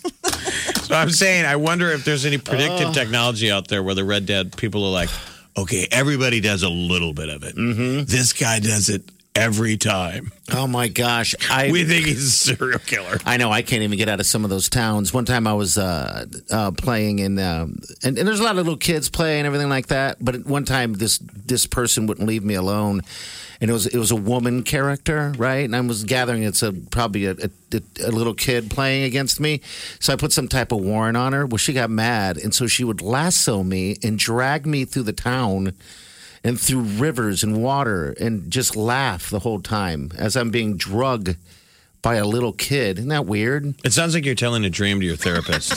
D: So I'm saying, I wonder if there's any predictive technology out there where the Red Dead people are like, okay, everybody does a little bit of it. Mm-hmm. This guy does it every time.
C: Oh my gosh. I
D: We think he's a serial killer.
C: I know I can't even get out of some of those towns. One time I was uh, uh, playing in, um, and, and there's a lot of little kids playing and everything like that. But at one time, this this person wouldn't leave me alone, and it was it was a woman character, right? And I was gathering it's a probably a, a, a little kid playing against me. So I put some type of warrant on her. Well, she got mad, and so she would lasso me and drag me through the town and through rivers and water and just laugh the whole time as I'm being drugged by a little kid. Isn't that weird?
D: It sounds like you're telling a dream to your therapist.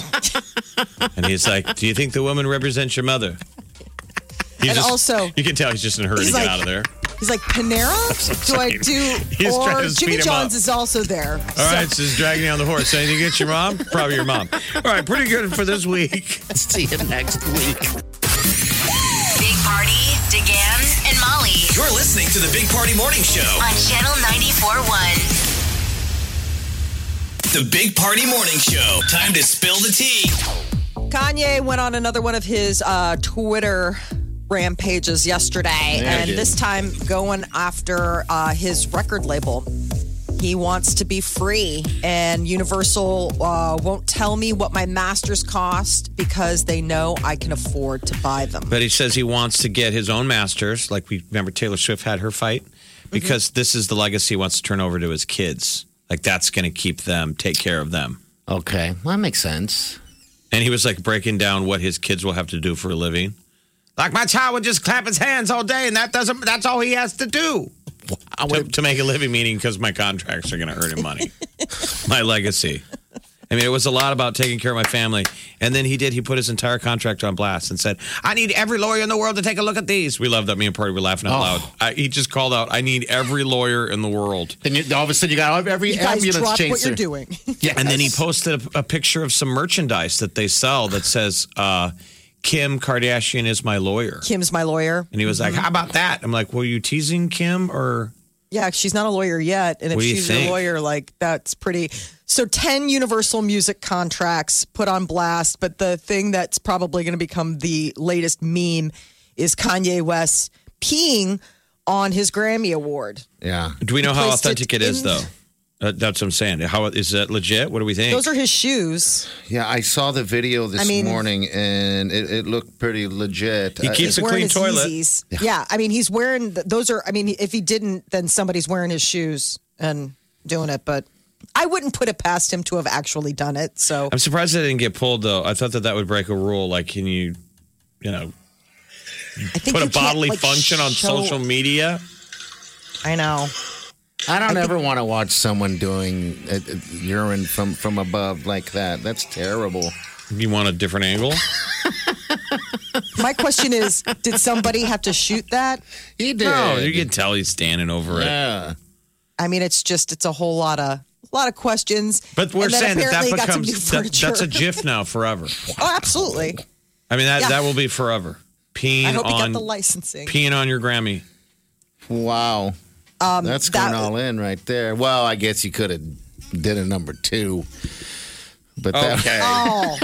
D: And he's like, do you think the woman represents your mother? He's
E: And
D: just-
E: also-
D: you can tell he's just in a hurry
E: He's
D: to get
E: like-
D: out of there.
E: He's like, Panera? Do I do?
D: He's trying
E: Or
D: to speed
E: Jimmy
D: him
E: John's
D: up.
E: is also there.
D: All right, so he's dragging you on the horse. Anything against your mom? Probably your mom. All right, pretty good for this week.
C: See you next week.
B: Big Party, DeGan, and Molly
F: You're listening to the Big Party Morning Show.
B: on Channel ninety-four point one.
F: The Big Party Morning Show. Time to spill the tea.
E: Kanye went on another one of his uh, Twitter rampages yesterday,
C: Yeah,
E: and
C: he did.
E: this time going after uh, his record label. He wants to be free, and Universal uh, won't tell me what my masters cost because they know I can afford to buy them.
D: But he says he wants to get his own masters. Like we remember Taylor Swift had her fight because this is the legacy he wants to turn over to his kids. Like that's going to keep them, take care of them.
C: Okay, well, that makes sense.
D: And he was like breaking down what his kids will have to do for a living. Like my child would just clap his hands all day, and that doesn't. That's all he has to do to, to make a living. Meaning, because my contracts are going to earn him money. My legacy. I mean, it was a lot about taking care of my family. And then he did. He put his entire contract on blast and said, "I need every lawyer in the world to take a look at these." We love that. Me and Party were laughing out
C: Oh.
D: loud. I, he just called out, "I need every lawyer in the world."
C: Then you, all of a sudden you got every
E: You guys
C: ambulance
E: drop
C: chaser.
E: what you're doing.
C: Yes.
D: And then he posted a, a picture of some merchandise that they sell that says, uh, "Kim Kardashian is my lawyer."
E: Kim's my lawyer.
D: And he was like, "How about that?" I'm like, "Were you teasing Kim or?"
E: Yeah, she's not a lawyer yet. And if
D: What do you
E: she's
D: think?
E: your lawyer, like that's pretty. So ten Universal Music contracts put on blast. But the thing that's probably going to become the latest meme is Kanye West peeing on his Grammy Award.
C: Yeah.
D: Do we know how
E: placed it
D: authentic it is,
E: in-
D: though? Uh, that's what I'm saying. How is that legit? What do we think?
E: Those are his shoes.
C: Yeah, I saw the video this
E: I mean-
C: morning, and it, it looked pretty legit.
D: He
C: Uh,
D: keeps
E: He's
D: a
E: wearing
D: clean
E: his
D: toilet.
E: Yeezys. Yeah. I mean, he's wearing th- those are. I mean, if he didn't, then somebody's wearing his shoes and doing it. But I wouldn't put it past him to have actually done it. So
D: I'm surprised it didn't get pulled, though. I thought that that would break a rule. Like, can you, you know,
E: I think
D: put a
E: you can't,
D: bodily
E: like,
D: function on
E: show-
D: social media?
E: I know.
C: I don't ever want to watch someone doing uh, uh, urine from, from above like that. That's terrible.
D: You want a different angle?
E: My question is, did somebody have to shoot that?
C: He did.
D: No, you can tell he's standing over it.
C: Yeah.
E: I mean, it's just it's a whole lot of a lot of questions.
D: But we're
E: And then
D: saying that that
E: apparently got some new
D: becomes that,
E: furniture.
D: that's a GIF now forever.
E: Oh, absolutely.
D: I mean that
E: Yeah.
D: that will be forever. Peeing
E: I hope he got
D: on
E: the licensing.
D: peeing on your Grammy.
C: Wow. That's going
E: that-
C: all in right there. Well, I guess you could have did a number two. But that,
D: Okay.
E: Oh,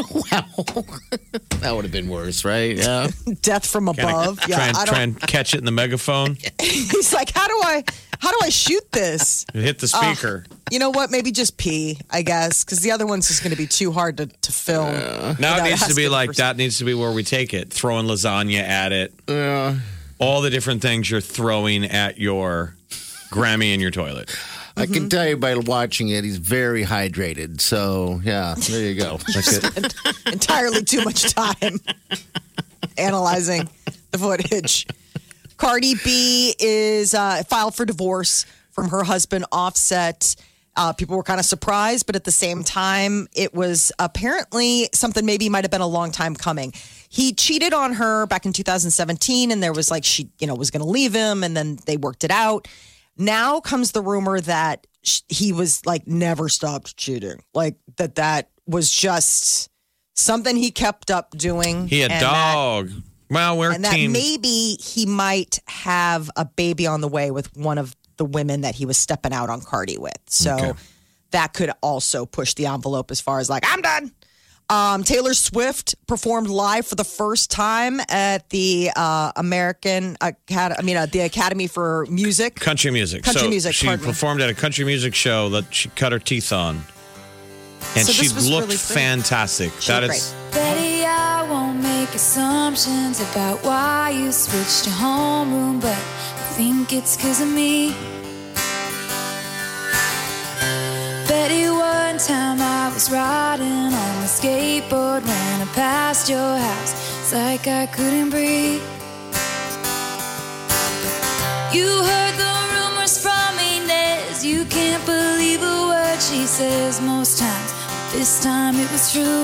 C: that would have been worse, right? Yeah.
E: death from above.
D: Try
E: Yeah,
D: and
E: I
D: try
E: don't.
D: and catch it in the megaphone.
E: He's like, how do I, how do I shoot this?
D: Hit the speaker.
E: You know what? Maybe just pee, I guess, because the other one's just going to be too hard to, to film.
D: Now
E: Without
D: it needs to be
E: asking
D: like
E: for-
D: that. Needs to be where we take it. Throwing lasagna at it.
C: Yeah.
D: All the different things you're throwing at your Grammy in your toilet.
C: I
E: Mm-hmm.
C: can tell you by watching it, he's very hydrated. So, yeah, there you go.
E: Entirely too much time analyzing the footage. Cardi B is uh, filed for divorce from her husband, Offset. Uh, people were kind of surprised, but at the same time, it was apparently something maybe might have been a long time coming. He cheated on her back in two thousand seventeen, and there was like she, you know, was going to leave him, and then they worked it out. Now comes the rumor that sh- he was like never stopped cheating, like that that was just something he kept up doing.
D: He a
E: and that-
D: dog. well, we're
E: and that
D: team.
E: maybe he might have a baby on the way with one of the women that he was stepping out on Cardi with. So
D: Okay.
E: that could also push the envelope as far as like, I'm done. Um, Taylor Swift performed live for the first time at the uh, American Academy, I mean, uh, the Academy for Music.
D: Country music.
E: Country
D: so
E: music,
D: She
E: pardon me.
D: performed at a country music show that she cut her teeth on. And
E: So
D: she
E: this was
D: looked
E: really great.
D: fantastic.
E: She
D: That
E: looked
D: is
G: Betty, I won't make assumptions about why you switched to homeroom, but I think it's 'cause of me. Betty, one time I was riding on a skateboard when I passed your house. It's like I couldn't breathe. You heard the rumors from Inez. You can't believe a word she says most times. But this time it was true.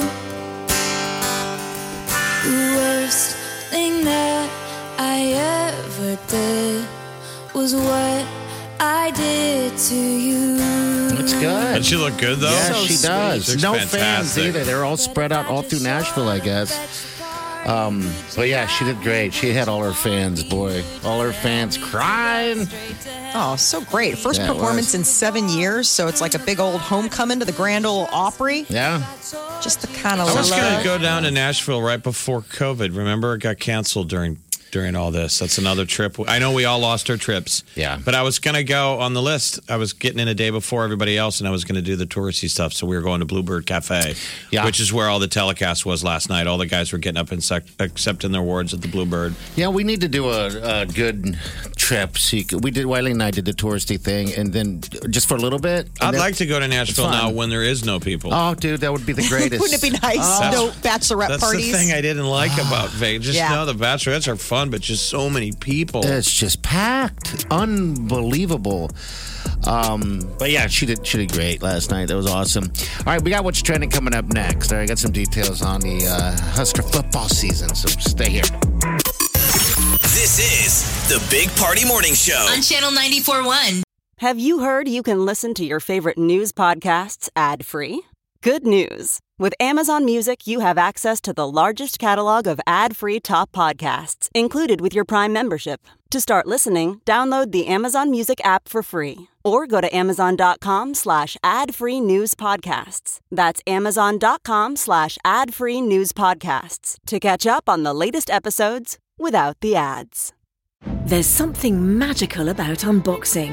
G: The worst thing that I ever did was what I did to you.
C: It's good.
D: Does she look good though?
C: Yeah,
E: So
C: she
E: sweet.
C: does.
D: She looks
C: No fans
D: fantastic.
C: either. They're all spread out all through Nashville, I guess. Um, but yeah, she did great. She had all her fans, boy. All her fans crying.
E: Oh, so great. First
C: Yeah, it
E: performance
C: was.
E: in seven years. So it's like a big old homecoming to the Grand Ole Opry.
C: Yeah.
E: Just the kind of
D: I was
E: love.
D: going to go down to Nashville right before COVID. Remember, it got canceled during during all this. That's another trip. I know we all lost our trips.
C: Yeah.
D: But I was going to go on the list. I was getting in a day before everybody else, and I was going to do the touristy stuff. So we were going to Bluebird Cafe,
C: Yeah.
D: which is where all the telecast was last night. All the guys were getting up and sec- accepting their awards at the Bluebird.
C: Yeah, we need to do a, a good trip. So you could, we did, Wiley and I did the touristy thing, and then just for a little bit. and
D: I'd
C: then-
D: like to go to Nashville
C: fun.
D: now when there is no people.
C: Oh, dude, that would be the greatest.
E: Wouldn't it be nice?
C: Oh.
E: No bachelorette
D: That's
E: parties.
D: the thing I didn't like about Vegas. Just
E: Yeah.
D: know the bachelorettes are fun, but just so many people.
C: It's just packed, unbelievable. Um, but yeah, she did. She did great last night. That was awesome. All right, we got what's trending coming up next. All right, I got some details on the uh, Husker football season. So stay here.
F: This is the Big Party Morning Show.
B: On Channel ninety-four point one.
H: Have you heard you can listen to your favorite news podcasts ad-free? Good news. With Amazon Music, you have access to the largest catalog of ad-free top podcasts included with your Prime membership. To start listening, download the Amazon Music app for free or go to amazon.com slash ad-free news podcasts. That's amazon.com slash ad-free news podcasts to catch up on the latest episodes without the ads.
I: There's something magical about unboxing.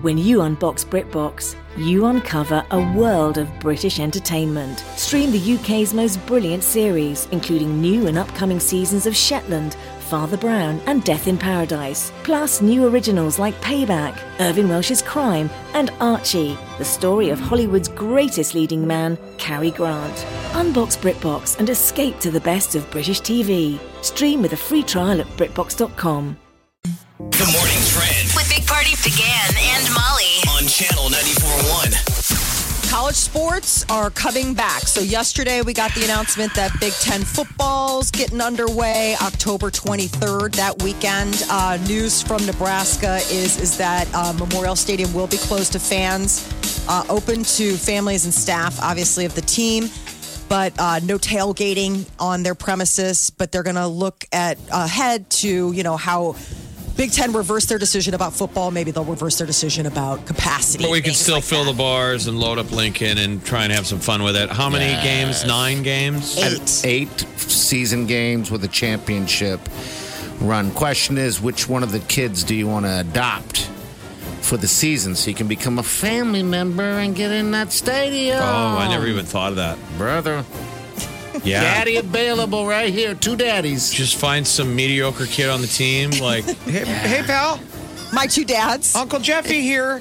I: When you unbox BritBox, you uncover a world of British entertainment. Stream the U K's most brilliant series, including new and upcoming seasons of Shetland, Father Brown, and Death in Paradise. Plus new originals like Payback, Irving Welsh's Crime, and Archie, the story of Hollywood's greatest leading man, Cary Grant. Unbox BritBox and escape to the best of British T V. Stream with a free trial at BritBox dot com.
F: The morning trend
B: With Big Party began and Molly.
F: on Channel ninety-four point one.
E: College sports are coming back. So yesterday we got the announcement that Big Ten football's getting underway October twenty-third, that weekend. Uh, news from Nebraska is, is that uh, Memorial Stadium will be closed to fans, uh, open to families and staff, obviously, of the team. But uh, no tailgating on their premises. But they're going to look at ahead to, you know, how Big Ten reversed their decision about football. Maybe they'll reverse their decision about capacity.
D: But we can
E: things
D: still
E: like
D: fill
E: that.
D: the bars and load up Lincoln and try and have some fun with it. How many
C: Yes.
D: games? Nine games?
E: Eight.
C: Eight season games with a championship run. Question is, which one of the kids do you want to adopt for the season so you can become a family member and get in that stadium?
D: Oh, I never even thought of that.
C: Brother.
D: Yeah.
C: Daddy available right here. Two daddies.
D: Just find some mediocre kid on the team. Like, hey, hey pal,
E: My two dads.
D: Uncle Jeffy here.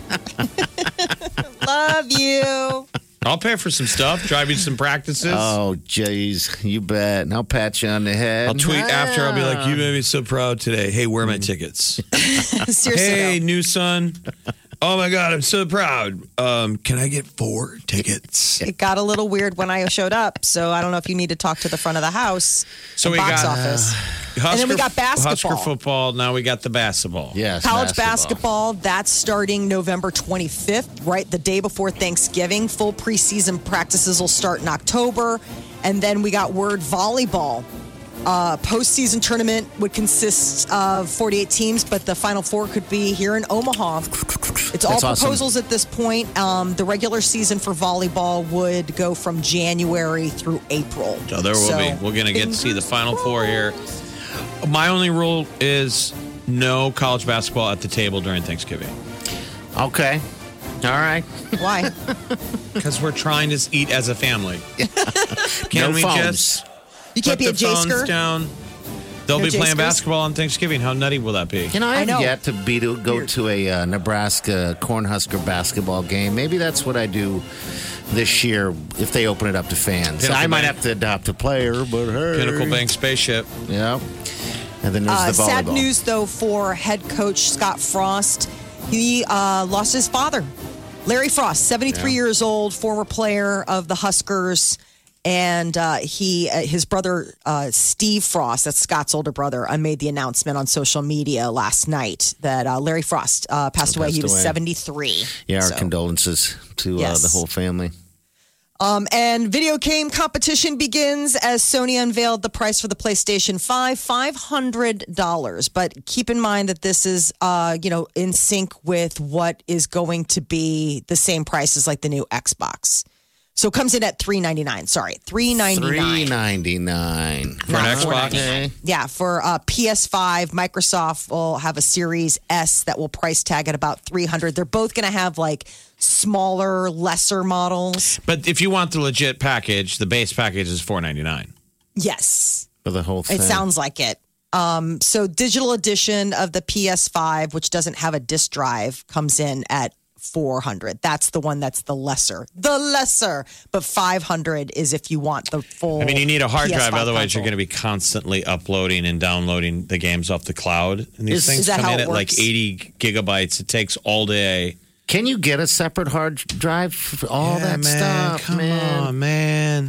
E: Love you.
D: I'll pay for some stuff, drive you some practices.
C: Oh, jeez. You bet. And I'll pat you on the head.
D: I'll tweet after. I'll be like, you made me so proud today. Hey, where are my tickets?
E: Seriously,
D: Hey,
E: though.
D: new son. Oh, my God, I'm so proud. Um, can I get four tickets?
E: It got a little weird when I showed up, so I don't know if you need to talk to the front of the house,
D: So
E: the
D: we
E: box
D: got,
E: office.
D: Husker,
E: And then we got basketball.
D: Husker football. Now we got the basketball.
C: Yes.
E: College basketball, that's starting November twenty-fifth, right the day before Thanksgiving. Full preseason practices will start in October. And then we got word volleyball. Uh, postseason tournament would consist of forty-eight teams, but the Final Four could be here in Omaha. It's all
C: That's awesome.
E: proposals at this point. Um, the regular season for volleyball would go from January through April.
D: So there will
E: So,
D: be. We're going to get to see the Final Four here. My only rule is no college basketball at the table during Thanksgiving.
C: Okay. All right.
E: Why?
D: Because we're trying to eat as a family. Can
C: No
D: we
C: phones.
D: just
E: You can't
D: put
E: be a
D: the
E: J
D: phones
E: skirt.
D: down? They'll
E: No
D: be playing
E: J-skers?
D: basketball on Thanksgiving. How nutty will that be?
C: You know,
E: I
C: I've
E: know.
C: yet to be to go to a uh, Nebraska Cornhusker basketball game. Maybe that's what I do this year if they open it up to fans.
D: Pinnacle
C: I might
D: Bank.
C: have to adopt a player, but hey.
D: Pinnacle Bank spaceship.
C: Yeah. And then there's
E: Uh,
C: the volleyball.
E: sad news, though, for head coach Scott Frost. He uh, lost his father, Larry Frost, seventy-three
C: Yeah.
E: years old, former player of the Huskers. And uh, he, uh, his brother, uh, Steve Frost, that's Scott's older brother, uh, made the announcement on social media last night that uh, Larry Frost uh, passed away.
C: Passed
E: He was
C: away.
E: seventy-three.
C: Yeah, our
E: So-
C: condolences to uh,
E: Yes.
C: the whole family.
E: Um, and video game competition begins as Sony unveiled the price for the PlayStation five, five hundred dollars. But keep in mind that this is, uh, you know, in sync with what is going to be the same price as like the new Xbox. So it comes in at three ninety-nine. Sorry, three ninety-nine.
C: Three ninety nine
D: For an Xbox?
C: Okay.
E: Yeah, for uh, P S five, Microsoft will have a Series S that will price tag at about three hundred. They're both going to have like smaller, lesser models.
D: But if you want the legit package, the base package is four ninety-nine.
E: Yes.
C: For the whole thing.
E: It sounds like it. Um, so digital edition of the P S five, which doesn't have a disk drive, comes in at four hundred. That's the one that's the lesser. The lesser. But five hundred is if you want the full.
D: I mean, you need a hard
E: P S five
D: drive, otherwise you're
E: console.
D: going to be constantly uploading and downloading the games off the cloud. And these
C: Is-
D: things
E: is that
D: come
E: how
D: in
E: it
D: at like
E: works?
D: eighty gigabytes. It takes all day.
C: Can you get a separate hard drive for all
D: Yeah,
C: that
D: man,
C: stuff,
D: come
C: man?
D: on, man.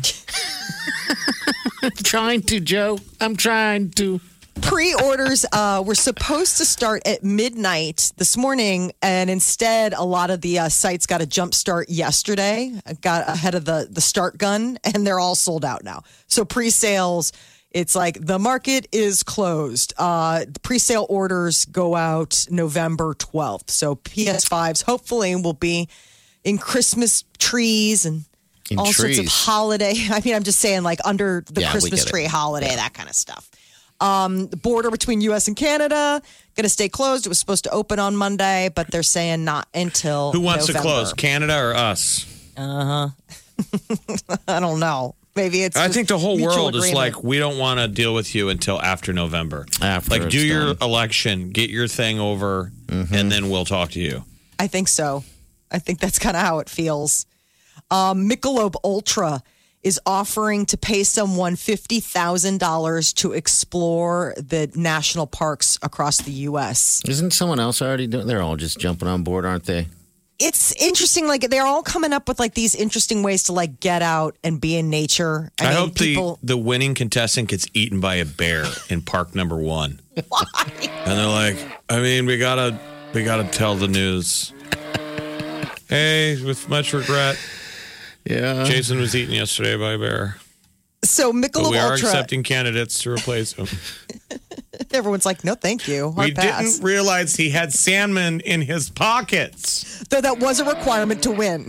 C: I'm trying to, Joe. I'm trying to.
E: Pre-orders uh, were supposed to start at midnight this morning, and instead, a lot of the uh, sites got a jump start yesterday. Got ahead of the the start gun, and they're all sold out now. So pre-sales, it's like the market is closed. Uh, the pre-sale orders go out November twelfth. So P S fives hopefully will be in Christmas trees and
C: In
E: all sorts of
C: trees.
E: holiday. I mean, I'm just saying, like under the
C: Yeah, we
E: Christmas
C: get it.
E: tree holiday, that kind of stuff. Um, the border between U S and Canada going to stay closed. It was supposed to open on Monday, but they're saying not until
D: Who wants
E: November.
D: to close, Canada or us?
E: Uh huh. I don't know. Maybe it's.
D: I
E: just
D: think the whole
E: mutual
D: world is
E: agreement.
D: like, we don't want to deal with you until after November.
C: After
D: like, do
C: it's
D: your
C: done.
D: election, get your thing over, and then we'll talk to you.
E: I think so. I think that's kind of how it feels. Um, Michelob Ultra is offering to pay someone fifty thousand dollars to explore the national parks across the U S.
C: Isn't someone else already doing? They're all just jumping on board, aren't they?
E: It's interesting. Like they're all coming up with like these interesting ways to like get out and be in nature.
D: I,
E: mean,
D: hope
E: people.
D: the, the winning contestant gets eaten by a bear in park number one.
E: Why?
D: And they're like, I mean, we gotta, we gotta tell the news. Hey, with much regret,
C: Yeah.
D: Jason was eaten yesterday by a bear.
E: So
D: But
E: Michelob
D: we are
E: Ultra.
D: accepting candidates to replace him.
E: Everyone's like, no, thank you. Hard
D: we
E: pass.
D: didn't realize he had salmon in his pockets.
E: Though that was a requirement to win.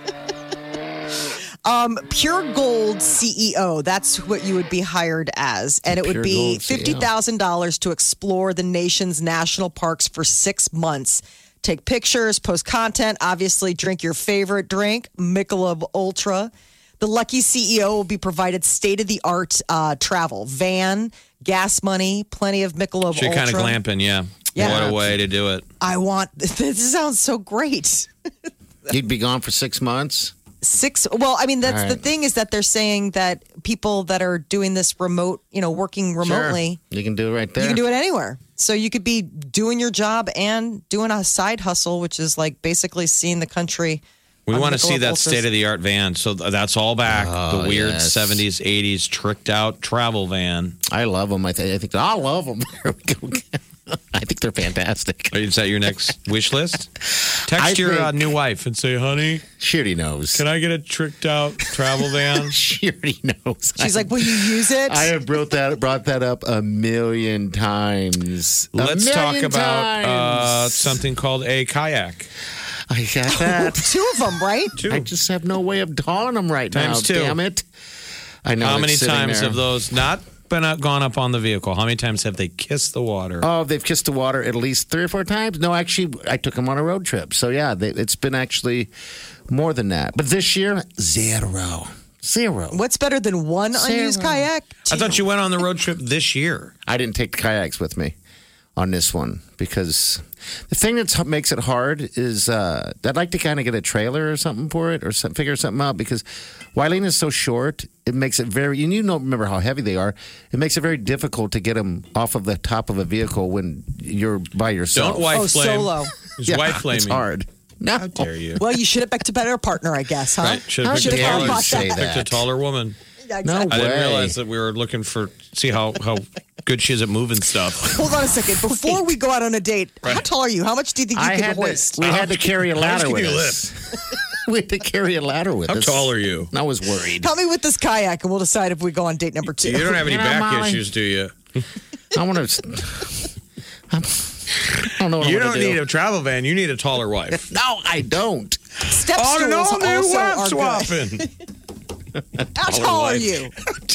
E: um, Pure Gold C E O, that's what you would be hired as. And it would
C: Pure
E: be
C: Gold C E O.
E: fifty thousand dollars to explore the nation's national parks for six months. Take pictures, post content, obviously drink your favorite drink, Michelob Ultra. The lucky C E O will be provided state-of-the-art uh, travel, van, gas money, plenty of Michelob
D: She
E: Ultra.
D: kind of glamping, yeah.
E: Yeah.
D: What a way to do it.
E: I want, this sounds so great.
C: You'd be gone for six months.
E: Six. Well, I mean, that's
C: All
E: the
C: right.
E: thing is that they're saying that people that are doing this remote, you know, working remotely,
C: Sure. You can do it right there.
E: you can do it anywhere. So you could be doing your job and doing a side hustle, which is like basically seeing the country.
D: We
E: on
D: want to see
E: Michelob
D: that
E: Ultras.
D: state of the art van. So th- that's all back.
C: Oh,
D: the weird
C: yes.
D: seventies, eighties tricked out travel van.
C: I love them. I, th- I think I love them. There we go. I think they're fantastic.
D: Is that your next wish list? Text
C: I
D: your uh,
C: think-
D: new wife and say, honey,
C: She already knows.
D: can I get a tricked out travel van?
C: She already knows.
E: She's
C: I,
E: like, "Will you use it?"
C: I have brought that brought that up a million times. A
D: Let's talk
C: million
D: about uh,
C: times.
D: something called a kayak.
C: I got that.
E: Two of them, right?
D: Two.
C: I just have no way of hauling them right
D: Times
C: now.
D: two.
C: Damn it! I know.
D: How
C: it's
D: many
C: sitting
D: times
C: there.
D: have those not been up, gone up on the vehicle? How many times have they kissed the water?
C: Oh, they've kissed the water at least three or four times. No, actually, I took them on a road trip. So yeah, they, it's been actually more than that. But this year, zero, zero.
E: What's better than one unused
C: Zero.
E: kayak?
D: I thought you went on the road trip this year.
C: I didn't take the kayaks with me on this one because the thing that makes it hard is uh, I'd like to kind of get a trailer or something for it or some, figure something out because Wileen is so short. It makes it very, and you don't remember how heavy they are. It makes it very difficult to get them off of the top of a vehicle when you're by yourself.
D: Don't wife
E: Oh,
D: flame.
E: solo.
D: There's
C: Yeah,
D: wife flaming.
C: it's hard. No,
D: How dare you?
E: Well, you should have picked a better partner, I guess, huh?
D: Right. Should
C: How
D: have picked, a
C: dare
D: taller,
C: you say
D: picked a
C: that?
D: taller woman.
E: Yeah,
C: No
E: exactly.
D: I didn't
C: way.
D: realize that we were looking for see how how good she is at moving stuff.
E: Hold on a second. Before we go out on a date, how
D: Right.
E: tall are you? How much do you think you
C: I
E: can
C: had
E: hoist?
C: to, we had to carry a
D: How much
C: ladder
D: can
C: with
D: you
C: us. We had to carry a ladder with
D: How
C: us.
D: tall are you?
C: I was worried.
E: Help me with this kayak, and we'll decide if we go on date number two.
D: You don't have any
C: You know,
D: back
C: Molly.
D: issues, do you?
C: I want to. I don't know what
D: You
C: I
D: don't
C: want to
D: need
C: do.
D: a travel van. You need a taller wife.
C: No, I don't.
E: Step
D: On an
E: stools
D: all new
E: also
D: wife
E: are good.
D: swapping.
E: How tall are
D: wife.
E: you?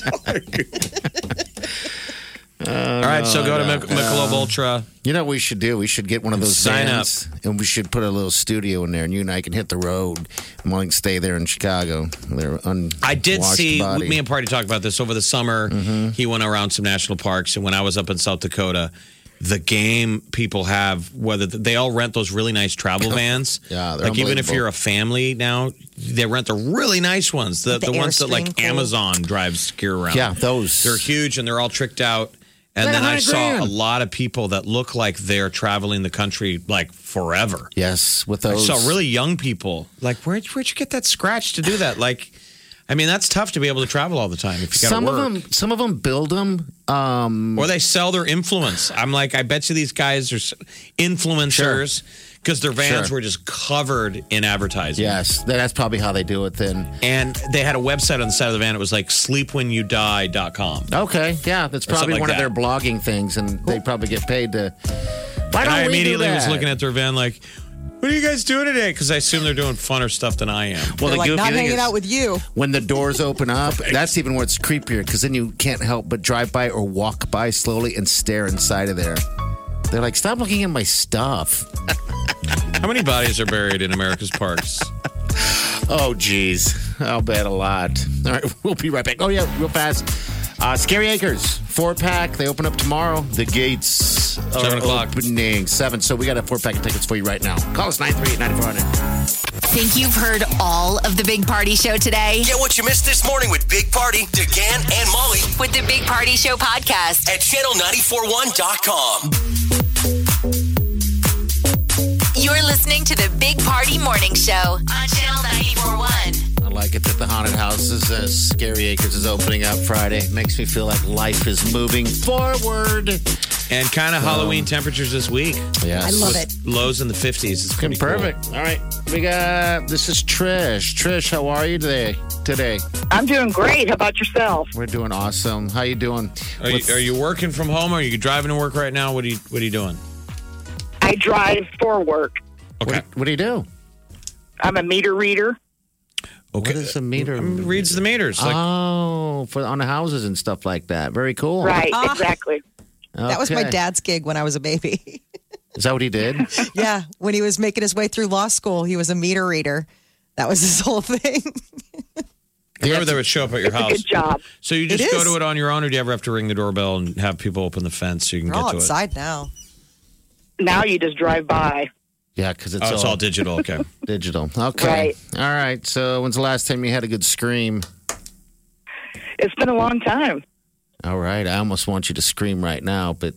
D: All right, so go to Mich- Michelob Ultra.
C: You know what we should do? We should get one of those
D: Sign
C: vans, and we should put a little studio in there, and you and I can hit the road, and we can stay there in Chicago. They're un-
D: I did
C: washed
D: see,
C: body.
D: me and Party talked about this over the summer. He went around some national parks, and when I was up in South Dakota, the game people have, whether they all rent those really nice travel vans.
C: Yeah, they're
D: like even if
C: unbelievable.
D: you're a family now, they rent the really nice ones, the,
E: The
D: the ones that like
E: Airstream, cool.
D: Amazon drives gear around.
C: Yeah, those.
D: They're huge and they're all tricked out. And
C: They're
D: then I
C: a hundred
D: saw
C: grand.
D: a lot of people that look like they're traveling the country like forever.
C: Yes, with
D: I
C: those.
D: saw really young people. Like, where'd, where'd you get that scratch to do that? Like, I mean, that's tough to be able to travel all the time if you got to
C: Some
D: work.
C: of them, some of them build them. Um,
D: Or they sell their influence. I'm like, I bet you these guys are s- influencers because their vans
C: Sure.
D: were just covered in advertising.
C: yes, that's probably how they do it. Then,
D: And they had a website on the side of the van. It was like sleep when you die dot com.
C: okay, yeah, that's
D: something
C: probably
D: like
C: one of
D: that.
C: their blogging things, and they probably get paid to. Why
D: And
C: don't
D: I
C: we do
D: immediately was
C: that?
D: looking at their van like, What are you guys doing today? Because I assume they're doing funner stuff than I am.
C: Well,
E: They're
C: the
E: like,
C: goofy
E: not
C: thing
E: hanging
C: is,
E: out with you.
C: when the doors open up, that's even where it's creepier because then you can't help but drive by or walk by slowly and stare inside of there. They're like, stop looking at my stuff.
D: How many bodies are buried in America's parks?
C: Oh, geez. I'll bet a lot. All right, we'll be right back. Oh, yeah, real fast. Uh, Scary Acres, four pack. They open up tomorrow. The gates are
D: Seven o'clock.
C: opening. Seven. So we got a four pack of tickets for you right now. Call us nine three eight, nine four zero zero.
B: Think you've heard all of the Big Party Show today?
F: Get what you missed this morning with Big Party, DeGan, and Molly
B: With the Big Party Show podcast.
F: at channel nine four one dot com.
B: You're listening to the Big Party Morning Show on Channel ninety-four point one.
C: I like it that the haunted houses, uh, Scary Acres is opening up Friday. Makes me feel like life is moving forward.
D: And kind of Halloween temperatures this week.
C: Yes.
E: I love it.
D: Lows in the fifties. It's pretty
C: Perfect. All right. We got, this is Trish. Trish, how are you today? Today.
J: I'm doing great. How about yourself?
C: We're doing awesome. How you doing?
D: Cool. Are you,
C: With-
D: are you working from home? Or are you driving to work right now? What are you What are you doing?
J: I drive for work.
D: Okay.
C: What, what do you do?
J: I'm a meter reader.
C: What
D: Okay.
C: is a meter?
D: Um, reads the meters. Like,
C: oh, for on the houses and stuff like that. Very cool.
J: Right,
E: Ah.
J: exactly.
E: That was my
C: Okay.
E: dad's gig when I was a baby.
C: Is that what he did?
E: Yeah, when he was making his way through law school, he was a meter reader. That was his whole thing.
D: whoever that would show up at your
J: It's a
D: house.
J: good job.
D: So you just
E: It
D: go
E: is.
D: to it on your own, or do you ever have to ring the doorbell and have people open the fence so you can
E: We're
D: get
E: all
D: to
E: outside now.
J: Now you just drive by.
C: Yeah, because
D: it?
C: it's,
D: Oh, it's
C: all,
D: all digital. Okay.
C: digital. Okay.
J: Right.
C: All right. So when's the last time you had a good scream?
J: It's been a long time.
C: All right. I almost want you to scream right now, but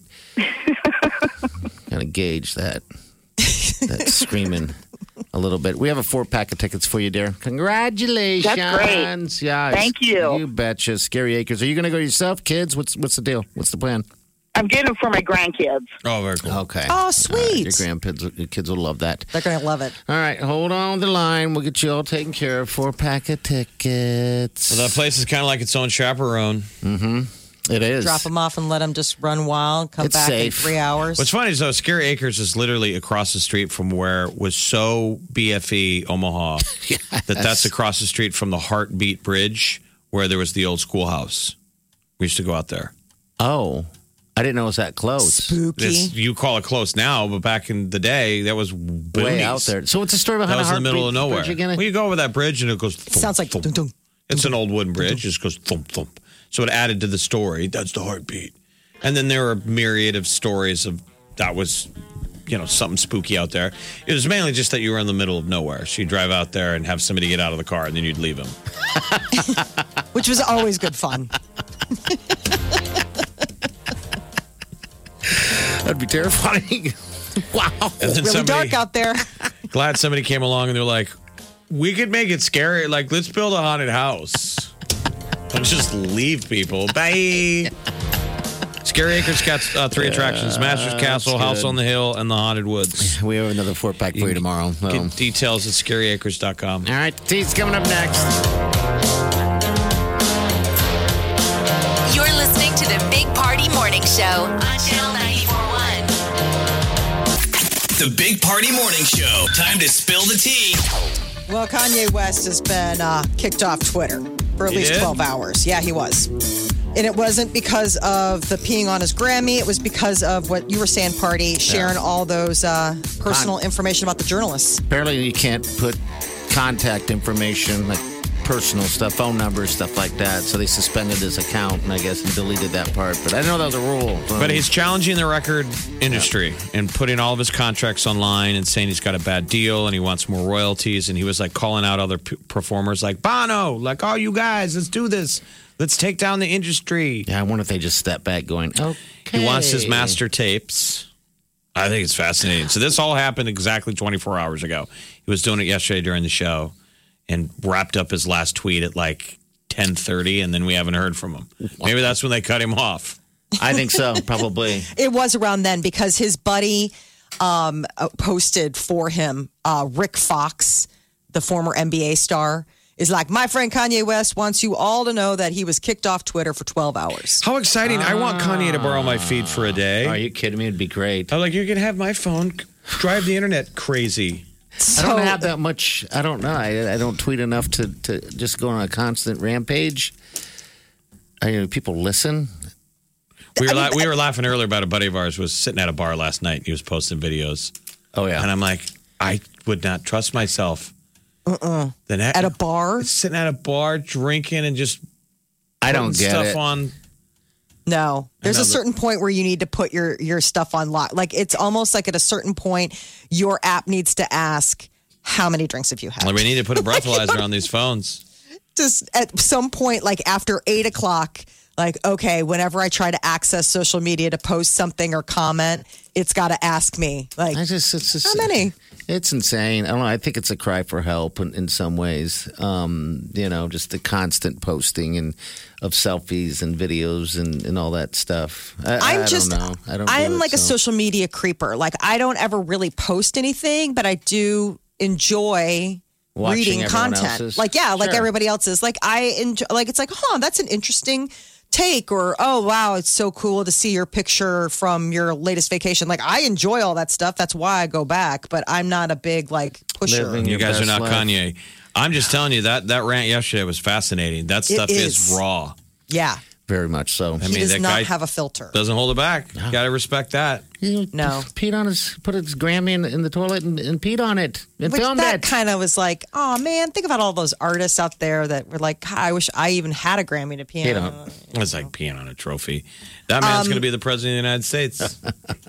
C: kind of gauge that that screaming a little bit. We have a four pack of tickets for you, dear. Congratulations.
J: That's great.
C: Yeah.
J: Thank you.
C: You betcha. Scary Acres. Are you going to go yourself, kids? What's what's the deal? What's the plan?
J: I'm getting them for my grandkids.
D: Oh, very cool.
C: Okay.
E: Oh,
C: All right,
E: sweet.
C: Your grandkids, your kids will love that.
E: They're going to love it.
C: All right, hold on the line. We'll get you all taken care of. Four pack of tickets.
D: Well, that place is kind of like its own chaperone.
C: It is.
E: Drop them off and let them just run wild. Come
C: It's
E: back
C: safe.
E: in three hours.
D: What's funny is though, Scary Acres is literally across the street from where was so B F E Omaha that that's across the street from the Heartbeat Bridge where there was the old schoolhouse. We used to go out there.
C: Oh, I didn't know it was that close.
E: Spooky.
D: This, you call it close now, but back in the day, that was boonies.
C: Way out there. So what's the story
D: That
C: behind
D: was
C: the
D: in the middle of
C: Heartbeat
D: nowhere.
C: Bridge again?
D: Well, you go over that bridge and it goes. Thump,
E: Sounds like
D: thump.
E: dun, dun.
D: It's an old wooden bridge. It just goes thump thump. So it added to the story. That's the heartbeat. And then there were a myriad of stories of that was, you know, something spooky out there. It was mainly just that you were in the middle of nowhere. So you drive out there and have somebody get out of the car, and then you'd leave them.
E: Which was always good fun.
C: That'd be terrifying. Wow.
D: And then
E: Really
D: somebody,
E: dark out there.
D: glad somebody came along and they're like, we could make it scary. Like, let's build a haunted house. Don't just leave people. Bye. Scary Acres got uh, three attractions: Master's Castle,
C: that's
D: House
C: good.
D: on the Hill, and the Haunted Woods.
C: We have another four pack for you tomorrow. So.
D: Get details at scary acres dot com.
C: All right, T's coming up next.
B: You're listening to the Big Party Morning Show on Channel ninety-four point one.
F: The Big Party Morning Show. Time to spill the tea.
E: Well, Kanye West has been uh, kicked off Twitter for at
D: He
E: least
D: did?
E: twelve hours. Yeah, he was. And it wasn't because of the peeing on his Grammy. It was because of what you were saying, Party, sharing all those uh, personal information about the journalists.
C: Apparently, you can't put contact information, like personal stuff, phone numbers, stuff like that. So they suspended his account, and I guess and deleted that part. But I didn't know that was a rule. So-
D: But he's challenging the record industry and putting all of his contracts online and saying he's got a bad deal and he wants more royalties. And he was like calling out other p- performers like Bono, like, oh, you guys, let's do this. Let's take down the industry.
C: Yeah, I wonder if they just step back going, okay.
D: He wants his master tapes. I think it's fascinating. So this all happened exactly twenty-four hours ago. He was doing it yesterday during the show and wrapped up his last tweet at like ten thirty, and then we haven't heard from him. Maybe that's when they cut him off.
C: I think so, probably.
E: It was around then because his buddy um, uh, posted for him, uh, Rick Fox, the former N B A star, is like, my friend Kanye West wants you all to know that he was kicked off Twitter for twelve hours.
D: How exciting. I want Kanye to borrow my feed for a day.
C: Are you kidding me? It'd be great.
D: I'm like, you can have my phone. Drive the internet crazy.
C: I don't have that much. I don't know. I, I don't tweet enough to, to just go on a constant rampage. I you know people listen.
D: We were la- we were laughing earlier about a buddy of ours was sitting at a bar last night. And he was posting videos.
C: Oh yeah,
D: and I'm like, I would not trust myself.
E: Uh-uh.
D: Then
E: at a bar,
D: sitting at a bar drinking and just
C: I don't get
D: stuff
C: it.
D: on.
E: No, there's a
D: Another-
E: certain point where you need to put your your stuff on lock. Like it's almost like at a certain point, your app needs to ask how many drinks have you had.
D: Like, we need to put a breathalyzer on these phones.
E: Just at some point, like after eight o'clock, like okay, whenever I try to access social media to post something or comment, it's got to ask me like
C: I just, it's just
E: how many.
C: It's insane. I don't know. I think it's a cry for help in, in some ways. Um, you know, just the constant posting and of selfies and videos and, and all that stuff. I,
E: I'm
C: I
E: just,
C: don't know. I don't.
E: I'm
C: do it,
E: like a
C: so.
E: social media creeper. Like I don't ever really post anything, but I do enjoy
C: Watching
E: reading
C: everyone
E: content.
C: else's.
E: Like yeah, like
C: Sure.
E: everybody else is. Like I enjoy. Like it's like, huh, that's an interesting take, or oh wow, it's so cool to see your picture from your latest vacation. Like I enjoy all that stuff. That's why I go back. But I'm not a big like pusher.
C: Living
D: You
C: your
D: guys are
C: best
D: not
C: life.
D: Kanye. I'm just telling you that that rant yesterday was fascinating. That stuff is.
E: is.
D: raw.
E: Yeah,
C: Very much so.
D: I
E: he
D: mean,
E: does
D: that
E: not
D: guy
E: have a filter.
D: doesn't hold it back. Got to respect that.
C: He
E: No.
C: peed on his, put his Grammy in, in the toilet and, and peed on it and
E: Which
C: filmed
E: that
C: it.
E: kind of was like, oh man, think about all those artists out there that were like, God, I wish I even had a Grammy to
C: He
E: piano.
C: don't.
D: It's like peeing on a trophy. That man's
E: Um,
D: going to be the president of the United States.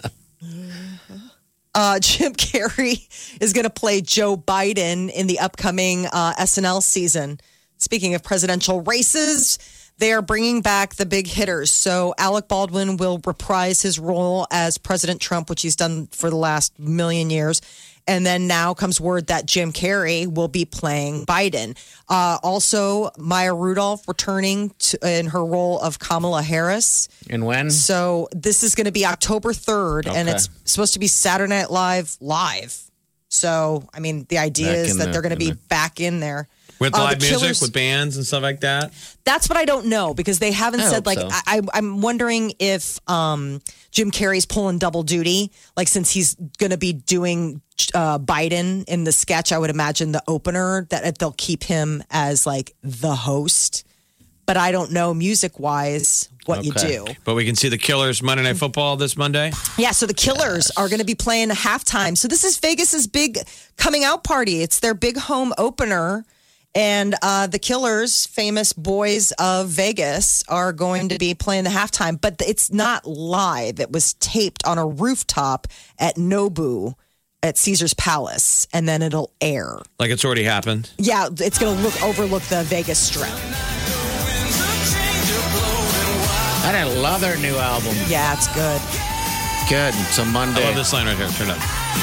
E: Uh, Jim Carrey is going to play Joe Biden in the upcoming uh, S N L season. Speaking of presidential races, they are bringing back the big hitters. So Alec Baldwin will reprise his role as President Trump, which he's done for the last million years. And then now comes word that Jim Carrey will be playing Biden. Uh, also, Maya Rudolph returning to, in her role of Kamala Harris.
C: And when?
E: So this is going to be October third, and
C: Okay.
E: it's supposed to be Saturday Night Live live. So, I mean, the idea
C: Back
E: is
C: in
E: that
C: the-
E: they're going to
C: in
E: be
C: the-
E: back in there.
D: With
E: Uh, the
D: live music,
E: Killers-
D: with bands and stuff like that.
E: That's what I don't know because they haven't
C: I
E: said
C: hope
E: like
C: so.
E: I, I'm wondering if um, Jim Carrey's pulling double duty, like since he's going to be doing uh, Biden in the sketch. I would imagine the opener that they'll keep him as like the host, but I don't know music wise what you
C: Okay.
E: do.
D: But we can see the Killers Monday Night Football this Monday.
E: Yeah, so the Killers are going to be playing halftime. So this is Vegas's big coming out party. It's their big home opener. And uh, the Killers, famous boys of Vegas, are going to be playing the halftime. But it's not live. It was taped on a rooftop at Nobu at Caesar's Palace. And then it'll air.
D: Like it's already happened.
E: Yeah, it's going to look overlook the Vegas Strip.
C: And I love their new album.
E: Yeah, it's good.
C: Good. It's a
D: I
C: Monday.
D: love this line right here. Turn it up.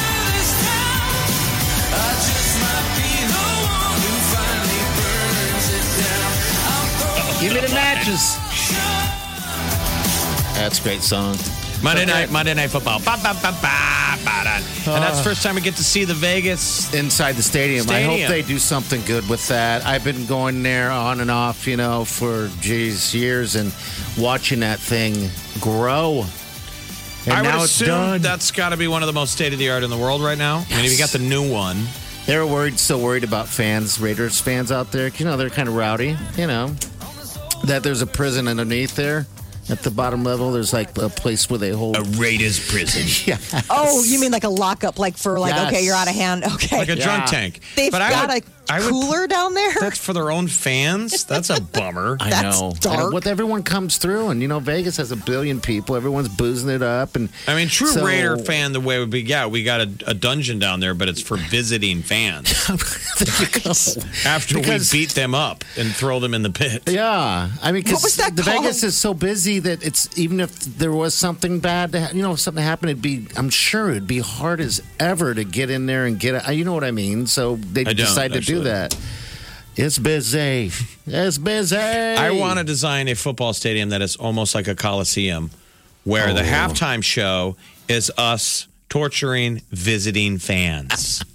C: Give me the matches. That's a great song.
D: Monday night, Monday Night Football. Ba, ba, ba, ba, ba, da. And that's the first time we get to see the Vegas.
C: Inside the stadium. I
D: Stadium.
C: hope they do something good with that. I've been going there on and off, you know, for geez years and watching that thing grow. And
D: I would
C: now it's
D: assume
C: done.
D: that's got to be one of the most state of the art in the world right now. I mean, if you got the new one.
C: They're worried, still worried about fans, Raiders fans out there. You know, they're kind of rowdy, you know. That there's a prison underneath there. At the bottom level, there's like a place where they hold.
D: A Raiders prison.
C: Yeah.
E: Oh, you mean like a lockup, like for like,
C: Yes.
E: okay, you're out of hand. Okay.
D: Like a
C: Yeah.
D: drunk tank.
E: They've
D: But I
E: got
D: would-
E: a
D: I would-
E: cooler down there?
D: That's for their own fans? That's a bummer.
C: I
E: That's
C: know.
E: dark.
C: And what everyone comes through, and you know, Vegas has a billion people. Everyone's boozing it up, and
D: I mean, true
C: so-
D: Raider fan, the way would be, yeah, we got a, a dungeon down there, but it's for visiting fans.
C: There you go.
D: After
C: Because-
D: we beat them up and throw them in the pit.
C: Yeah, I mean,
E: What was
C: because
E: that
C: the
E: called?
C: Vegas is so busy that it's even if there was something bad, to ha- you know, if something happened, it'd be. I'm sure it'd be hard as ever to get in there and get it. You know what I mean? So they
D: I don't,
C: decide to do
D: actually.
C: that. It's busy. It's busy.
D: I want to design a football stadium that is almost like a coliseum, where the
C: Oh.
D: halftime show is us torturing visiting fans.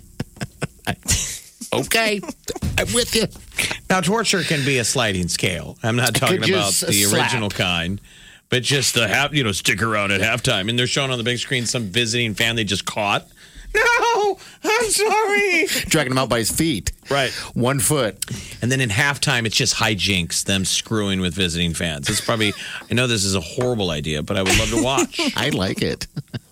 C: Okay, I'm with you.
D: Now, torture can be a sliding scale. I'm not talking
C: could
D: about
C: just
D: the
C: slap.
D: original kind, but just the half, you know, stick around at halftime. And they're showing on the big screen some visiting fan they just caught. No, I'm sorry.
C: Dragging him out by his feet.
D: Right.
C: One foot.
D: And then in halftime, it's just hijinks, them screwing with visiting fans. It's probably, I know this is a horrible idea, but I would love to watch.
C: I like it.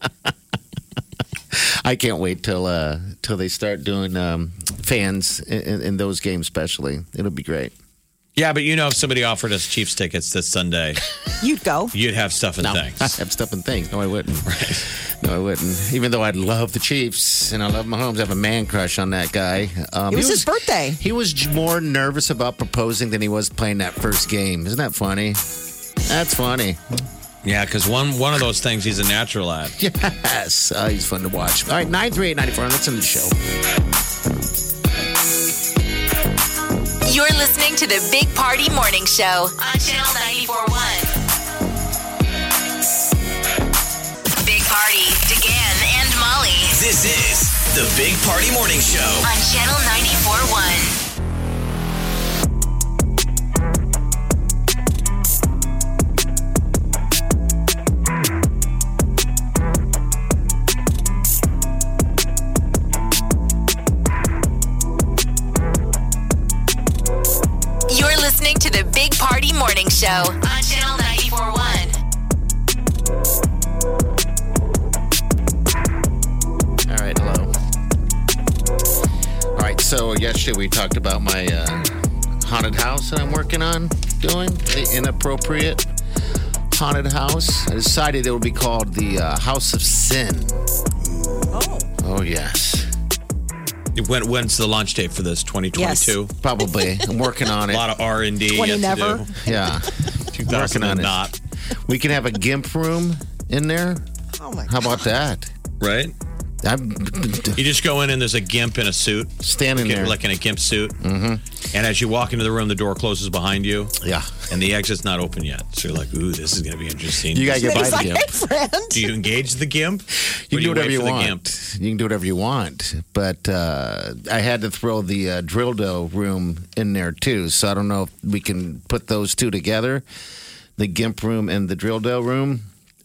C: I can't wait till uh, till they start doing um, fans in, in those games, especially. It'll be great.
D: Yeah, but you know, if somebody offered us Chiefs tickets this Sunday,
E: You'd go.
D: you'd have stuff and
C: No,
D: things.
C: I have stuff and things. No, I wouldn't. No, I wouldn't. Even though I love the Chiefs and I love Mahomes, I have a man crush on that guy. Um,
E: It was
C: he
E: his birthday.
C: He was j- more nervous about proposing than he was playing that first game. Isn't that funny? That's funny.
D: Yeah, because one one of those things he's a natural at.
C: Yes. Uh, he's fun to watch. All right, nine three eight nine four. Let's end the show.
B: You're listening to the Big Party Morning Show on Channel ninety-four point one. Big Party, DeGan and Molly
F: This is the Big Party Morning Show.
B: on Channel ninety-four point one. You're listening to the Big Party Morning Show on Channel ninety-four point one.
C: All right, hello. All right, so yesterday we talked about my uh, haunted house that I'm working on doing, the inappropriate haunted house. I decided it would be called the uh, House of Sin.
E: Oh.
C: Oh, yes.
D: When, when's the launch date for this? twenty twenty-two?
C: Probably. I'm working on
D: A
C: it.
D: lot of R and D
E: twenty
D: yet
E: never.
D: to do.
C: Yeah.
D: two
C: Working
D: thousand
C: on
D: and
C: it.
D: not.
C: We can have a GIMP room in there.
E: Oh, my God.
C: How about that?
D: Right?
C: I'm
D: You just go in and there's a gimp in a suit.
C: standing
D: Get-
C: there.
D: Like in a gimp suit. Mm-hmm. And as you walk into the room, the door closes behind you.
C: Yeah.
D: And the exit's not open yet. So you're like, ooh, this is going to be interesting.
C: You gotta get
E: And
C: by
E: he's
C: the
E: like,
C: GIMP.
E: hey, friend.
D: Do you engage the gimp?
C: You
D: Or
C: can do whatever
D: wait
C: you
D: for the
C: want.
D: gimp?
C: You can do whatever you want. But uh, I had to throw the uh, drill dough room in there too. So I don't know if we can put those two together, the GIMP room and the drill dough room.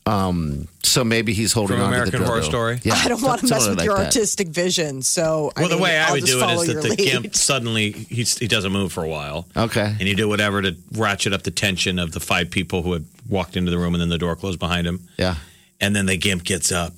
C: Um, so maybe he's holding
D: From
C: on
D: American
C: to the drill
D: Horror
C: dough.
D: Story?
C: Yeah,
E: I don't want to
C: something
E: mess with
C: like
E: your
C: that.
E: artistic vision. So, I
D: Well, the
E: mean,
D: way I
E: I'll
D: would
E: just
D: do it
E: follow
D: is that
E: your
D: the
E: lead.
D: gimp suddenly he's, he doesn't move for a while,
C: Okay.
D: and you do whatever to ratchet up the tension of the five people who had walked into the room, and then the door closed behind him,
C: Yeah.
D: and then the gimp gets up,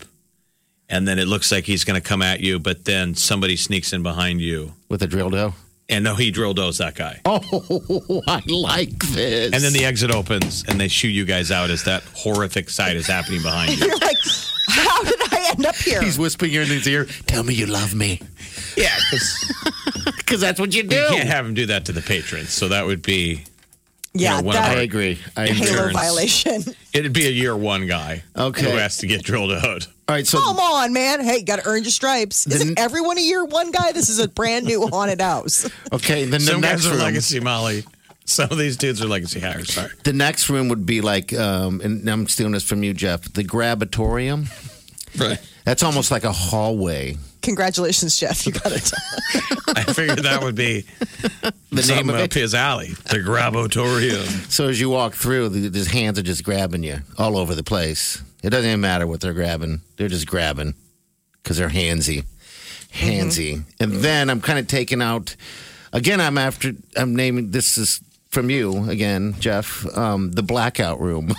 D: and then it looks like he's going to come at you, but then somebody sneaks in behind you,
C: With a drill dough.
D: and no, he drill does that guy,
C: Oh, I like this.
D: and then the exit opens, and they shoot you guys out as that horrific sight is happening behind you.
E: You're like, how did I end up here?
C: He's whispering in his ear, tell me you love me.
D: Yeah, because
C: Because that's what you do.
D: you can't have him do that to the patrons, so that would be
E: yeah,
D: you know, one of
C: I
E: that
C: agree. I agree.
E: Halo
D: Insurance.
E: violation.
D: it'd be a year one guy
C: Okay.
D: who has to get drilled out.
C: All right, so
E: Come on, man. Hey, you got to earn your stripes. Isn't
C: The-
E: everyone a year one guy? This is a brand new haunted house.
C: okay, then the
D: Some
C: next
D: guys are
C: room.
D: legacy Molly. Some of these dudes are legacy hires. Sorry.
C: The next room would be like, um, and I'm stealing this from you, Jeff, the Grabatorium.
D: Right.
C: That's almost like a hallway.
E: Congratulations, Jeff. You got it.
D: I figured that would be
C: The
D: something
C: name of
D: up
C: it.
D: his alley. The Grabotorium.
C: So as you walk through, the, his hands are just grabbing you all over the place. It doesn't even matter what they're grabbing. They're just grabbing because they're handsy. Handsy. And then I'm kind of taking out, again, I'm after, I'm naming, this is from you again, Jeff, um, the blackout room.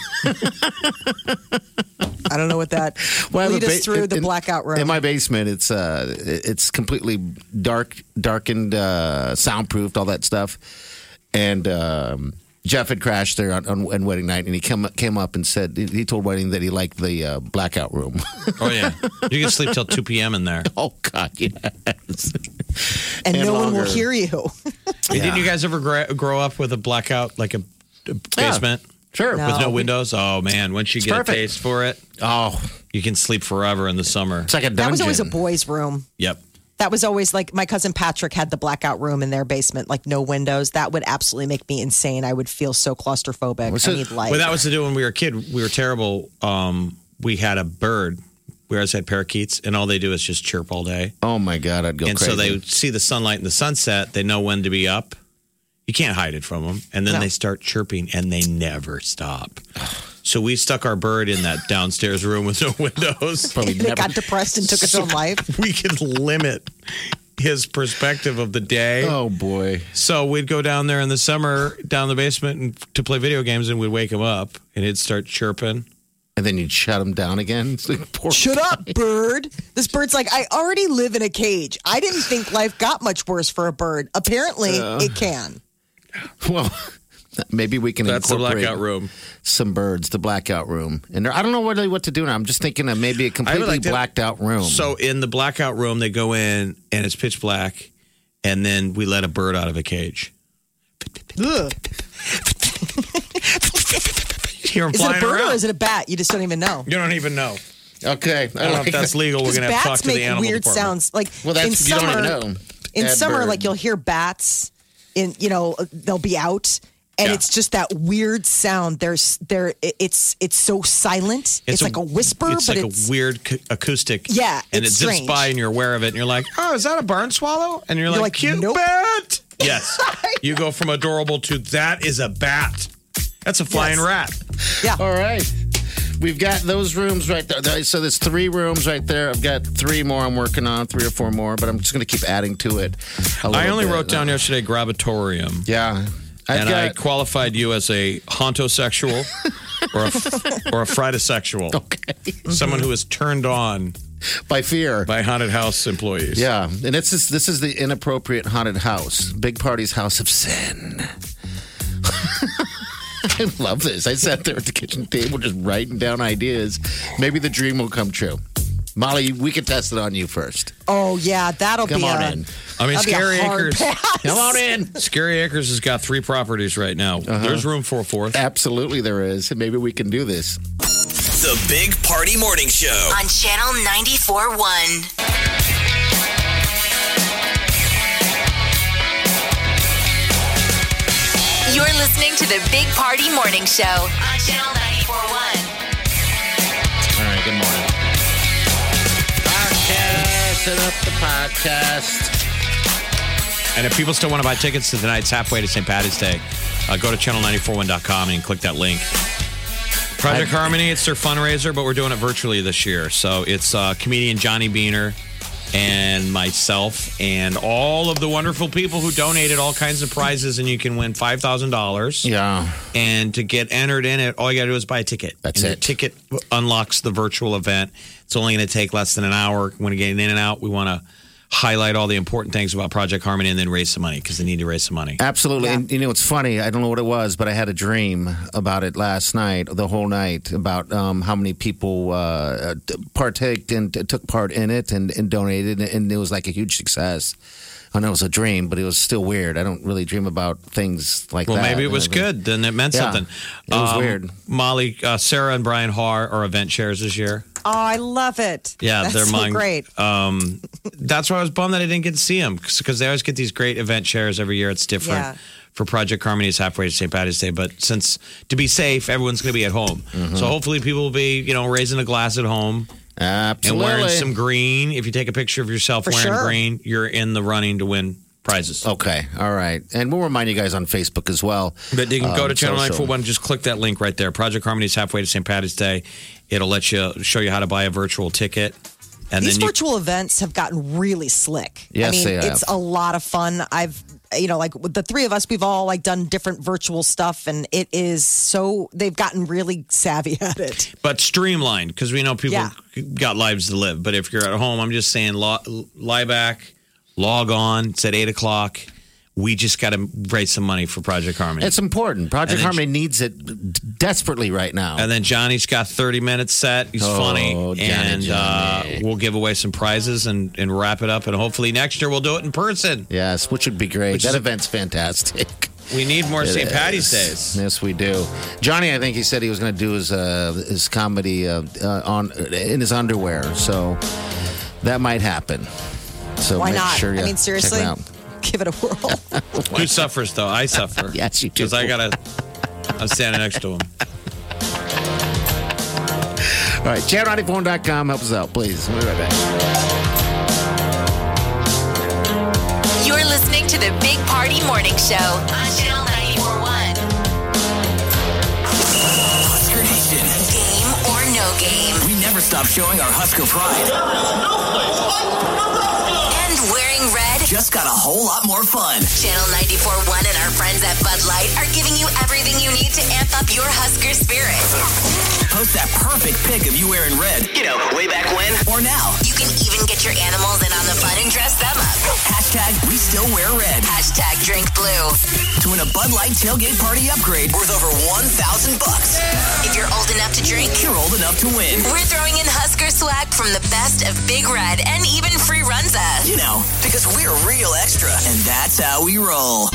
E: I don't know what that.
C: Well, I have
E: Lead
C: a
E: us
C: ba-
E: through the
C: in-
E: blackout room.
C: In my basement, it's uh, it's completely dark, darkened, uh, soundproofed, all that stuff. And um, Jeff had crashed there on, on, on wedding night, and he came came up and said he told wedding that he liked the uh, blackout room.
D: Oh, yeah. You can sleep till two p.m. in there.
C: Oh God, yes.
E: and,
C: and
E: no one will
C: longer.
E: hear you.
D: Hey, didn't you guys ever gra- grow up with a blackout, like a, a basement
C: Sure.
E: No.
D: with no windows? Oh, man. Once you get
C: perfect.
D: a taste for it,
C: Oh,
D: you can sleep forever in the summer.
C: it's like a dungeon.
E: That was always a boys' room.
D: Yep.
E: That was always like my cousin Patrick had the blackout room in their basement, like no windows. That would absolutely make me insane. I would feel so claustrophobic.
C: What's
E: I
C: it-
E: need light.
D: Well, that was to do when we were a kid. We were terrible. Um, we had a bird. We always had parakeets, and all they do is just chirp all day.
C: Oh my God, I'd go
D: and
C: crazy.
D: so they see the sunlight and the sunset. They know when to be up. You can't hide it from them. And then
E: No.
D: they start chirping, and they never stop. So we stuck our bird in that downstairs room with no windows.
E: Probably never... It got depressed and took its
D: so
E: own life.
D: We could limit his perspective of the day.
C: Oh, boy.
D: So we'd go down there in the summer, down the basement and, to play video games, and we'd wake him up, and he'd start chirping.
C: And then you'd shut him down again. It's like, poor
E: Shut
C: guy.
E: up, bird. This bird's like, I already live in a cage. I didn't think life got much worse for a bird. Apparently, uh, it can.
C: Well, maybe we can
D: That's the
C: incorporate
D: blackout room.
C: Some birds, the blackout room. And there, I don't know what, what to do now. I'm just thinking of maybe a completely like to, blacked out room.
D: So in the blackout room, they go in, and it's pitch black, and then we let a bird out of a cage.
E: Ugh.
D: Hear him
E: is it a bird
D: around.
E: or is it a bat? You just don't even know.
D: You don't even know.
C: Okay. I,
D: I don't know
C: like
D: if that's
C: that.
D: legal. We're going to have to talk to the animal
E: weird
D: department.
E: Sounds. Like
C: well, that's,
E: in
C: you
E: summer,
C: don't even know.
E: In
C: Add
E: summer,
C: bird.
E: like you'll hear bats. In you know they'll be out, and
D: Yeah.
E: it's just that weird sound. There's there. It's it's so silent. It's,
D: It's a-
E: like a whisper,
D: It's
E: but
D: like
E: it's
D: a weird c- acoustic.
E: Yeah,
D: and
E: it's
D: it zips
E: strange.
D: by, and you're aware of it, and you're like, "Oh, is that a barn swallow?" And you're,
E: You're
D: like,
E: like,
D: "Cute
E: nope.
D: bat." Yes, you go from adorable to that is a bat. That's a flying
E: Yes.
D: rat.
E: yeah.
C: All right. We've got those rooms right there. So there's three rooms right there. I've got three more I'm working on, three or four more, but I'm just going to keep adding to it. a
D: I
C: little
D: only
C: bit.
D: wrote down yesterday gravitorium.
C: Yeah. I've
D: and I
C: got-
D: qualified you as a hauntosexual or a, or a fridosexual.
C: Okay.
D: Someone who is turned on
C: By fear.
D: by haunted house employees.
C: Yeah. And it's just, this is the inappropriate haunted house. Big Party's House of Sin. I love this. I sat there at the kitchen table just writing down ideas. Maybe the dream will come true. Molly, we can test it on you first.
E: Oh yeah, that'll
C: Come
E: be
C: on
E: a,
C: in.
D: I mean,
E: that'll be a
D: Scary
E: hard
D: Acres.
E: pass.
C: Come on in.
D: Scary Acres has got three properties right now.
C: Uh-huh.
D: There's room for a fourth.
C: Absolutely, there is. Maybe we can do this.
F: The Big Party Morning Show.
B: on Channel ninety-four point one. You're listening to the Big Party Morning Show on Channel ninety-four point one.
C: All right, good morning. Podcast, set up the podcast.
D: And if people still want to buy tickets to tonight's halfway to Saint Patty's Day, uh, go to channel nine four one dot com and click that link. Project
C: I-
D: Harmony, it's their fundraiser, but we're doing it virtually this year. So it's uh, comedian Johnny Beaner and myself and all of the wonderful people who donated all kinds of prizes, and you can win five thousand dollars.
C: Yeah.
D: And to get entered in it, all you got to do is buy a ticket.
C: That's
D: and
C: it.
D: The ticket unlocks the virtual event. It's only going to take less than an hour. When you get in and out, we want to highlight all the important things about Project Harmony and then raise some money because they need to raise some money.
C: Absolutely. And you know, it's funny. I don't know what it was, but I had a dream about it last night, the whole night, about um, how many people uh, partaked and took part in it and, and donated. And it was like a huge success. I know it was a dream, but it was still weird. I don't really dream about things like
D: Well,
C: that.
D: maybe it was
C: And I-
D: good. Then it meant
C: Yeah,
D: something.
C: it was
D: Um,
C: weird.
D: Molly, uh, Sarah, and Brian Haar are event chairs this year.
E: Oh, I love it.
D: Yeah,
E: That's
D: they're
E: so
D: mine.
E: great.
D: Um, that's why I was bummed that I didn't get to see them because they always get these great event chairs every year. It's different.
E: Yeah.
D: For Project Harmony's halfway to Saint Patty's Day, but since to be safe, everyone's going to be at home.
C: Mm-hmm.
D: So hopefully, people will be, you know, raising a glass at home
C: Absolutely.
D: and wearing some green. If you take a picture of yourself
E: For
D: wearing
E: sure.
D: green, you're in the running to win prizes.
C: Okay. All right. And we'll remind you guys on Facebook as well.
D: But you can go
C: Um,
D: to Channel
C: social.
D: nine four one, just click that link right there. Project Harmony's halfway to Saint Patty's Day. It'll let you show you how to buy a virtual ticket. And
E: These
D: then you,
E: virtual events have gotten really slick.
C: Yes,
E: I mean,
C: they have.
E: it's a lot of fun. I've, you know, like with the three of us, we've all like done different virtual stuff, and it is so they've gotten really savvy at it.
D: but streamlined because we know people
E: Yeah.
D: got lives to live. But if you're at home, I'm just saying, lo- lie back, log on. It's at eight o'clock. We just got to raise some money for Project Harmony.
C: It's important. Project
D: And then-
C: Harmony needs it desperately right now.
D: And then Johnny's got thirty minutes set. He's
C: Oh,
D: funny.
C: Johnny,
D: and
C: Johnny.
D: Uh, we'll give away some prizes and, and wrap it up. And hopefully next year we'll do it in person.
C: Yes, which would be great.
D: Which
C: that
D: is-
C: event's fantastic.
D: We need more
C: It
D: Saint Patty's
C: is.
D: Days.
C: Yes, we do. Johnny, I think he said he was going to do his uh, his comedy uh, uh, on in his underwear, so that might happen. So
E: Why
C: make
E: not?
C: Sure you
E: I mean,
C: check
E: seriously,
C: it out.
E: give it a whirl.
D: Who suffers though? I suffer.
C: Yes, you do.
D: Because I gotta. I'm standing next to him.
C: All right, channel ninety-four dot com. Help us out, please. We'll be right back.
B: You're listening to the Big Party Morning Show on Channel ninety-four point one.
F: Oscar Nation
B: game.
F: We never stop showing our Husker pride.
B: And wearing red
F: Just got a whole lot more fun.
B: Channel ninety-four point one and our friends at Bud Light are giving you everything you need to amp up your Husker spirit.
F: Post that perfect pic of you wearing red. You know, way back when. Or now.
B: You can even get your animals in on the fun and dress them up.
F: Hashtag we still wear red.
B: Hashtag drink blue.
F: To win a Bud Light tailgate party upgrade worth over one thousand bucks.
B: If you're old enough to drink,
F: You're old enough to win.
B: we're throwing in Husker swag from the best of Big Red and even free Runza.
F: You know, because we're real extra. And that's how we roll.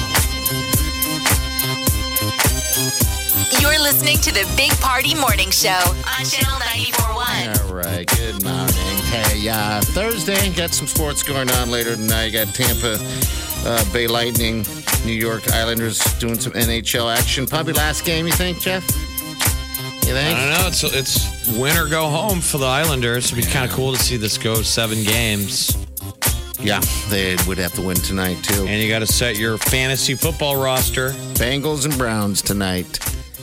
B: You're listening to the Big Party Morning Show on Channel ninety-four point one.
C: All right, good morning. Hey, uh, Thursday, got some sports going on later tonight. You got Tampa uh, Bay Lightning, New York Islanders doing some N H L action. Probably last game, you think, Jeff? You think?
D: I don't know. It's it's win or go home for the Islanders. It'd be kind of cool to see this go seven games.
C: Yeah, they would have to win tonight, too.
D: And you got to set your fantasy football roster.
C: Bengals and Browns tonight.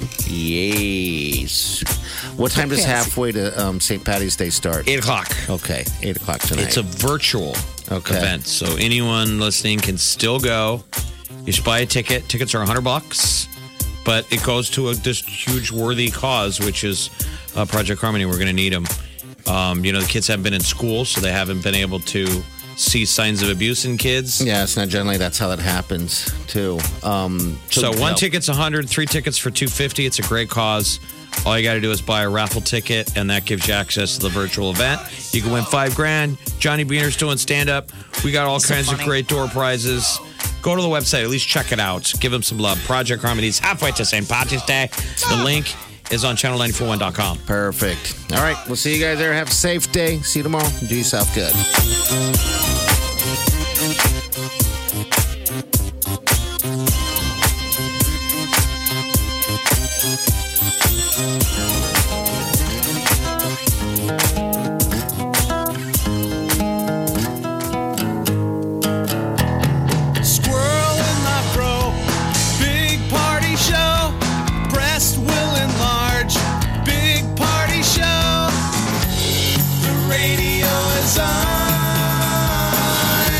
C: Yes. What time does halfway to um, Saint Patty's Day start?
D: Eight o'clock.
C: Okay, eight o'clock tonight.
D: It's a virtual
C: Okay.
D: event, so anyone listening can still go. You should buy a ticket. Tickets are a hundred bucks, but it goes to a this huge worthy cause, which is uh, Project Harmony. We're going to need them. Um, you know, the kids haven't been in school, so they haven't been able to see signs of abuse in kids.
C: Yeah, it's not generally that's how that happens too. Um,
D: So, one
C: no.
D: ticket's a hundred, three tickets for two fifty. It's a great cause. All you got to do is buy a raffle ticket, and that gives you access to the virtual event. You can win five grand. Johnny Beaner's doing stand up. We got all
E: So
D: kinds
E: funny.
D: of great door prizes. Go to the website, at least check it out. Give them some love. Project Harmony's halfway to Saint Patrick's Day. The link is on channel nine four one dot com.
C: Perfect. All right, we'll see you guys there. Have a safe day. See you tomorrow. Do yourself good.
K: Squirrel in my fro. Big party show. Breast will enlarge. Big party show. The radio is on.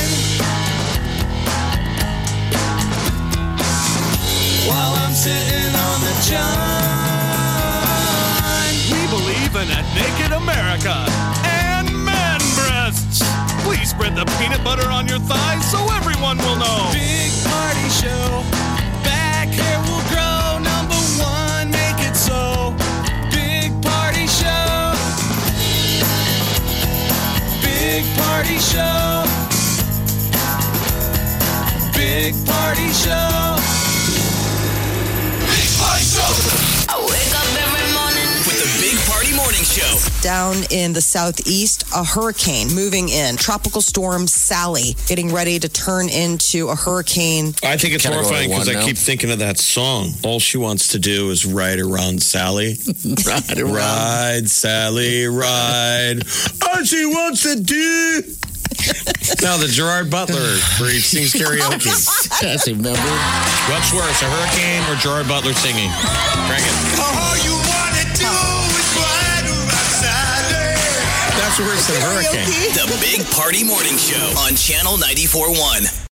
K: While I'm sitting on the john. We believe in a naked America and man breasts. Please spread the peanut butter on your thighs so everyone will know. Big party show. Back hair will grow. Number one, make it so. Big party show. Big party show. Big party show. Big party show.
B: I wake up every morning.
F: With the Big Party Morning Show.
E: Down in the southeast, a hurricane moving in. Tropical storm Sally getting ready to turn into a hurricane.
D: I think it's
C: Gotta go to
D: horrifying because
C: one
D: I
C: now.
D: keep thinking of that song. All she wants to do is ride around Sally.
C: Right around.
D: Ride, Sally, ride. All she wants to do. No, the Gerard Butler where he sings karaoke.
C: Yes, remember?
D: What's worse, a hurricane or Gerard Butler singing? Crank it.
K: All you wanna do is ride around Sally.
D: That's worse than a hurricane.
F: The Big Party Morning Show on Channel ninety-four point one.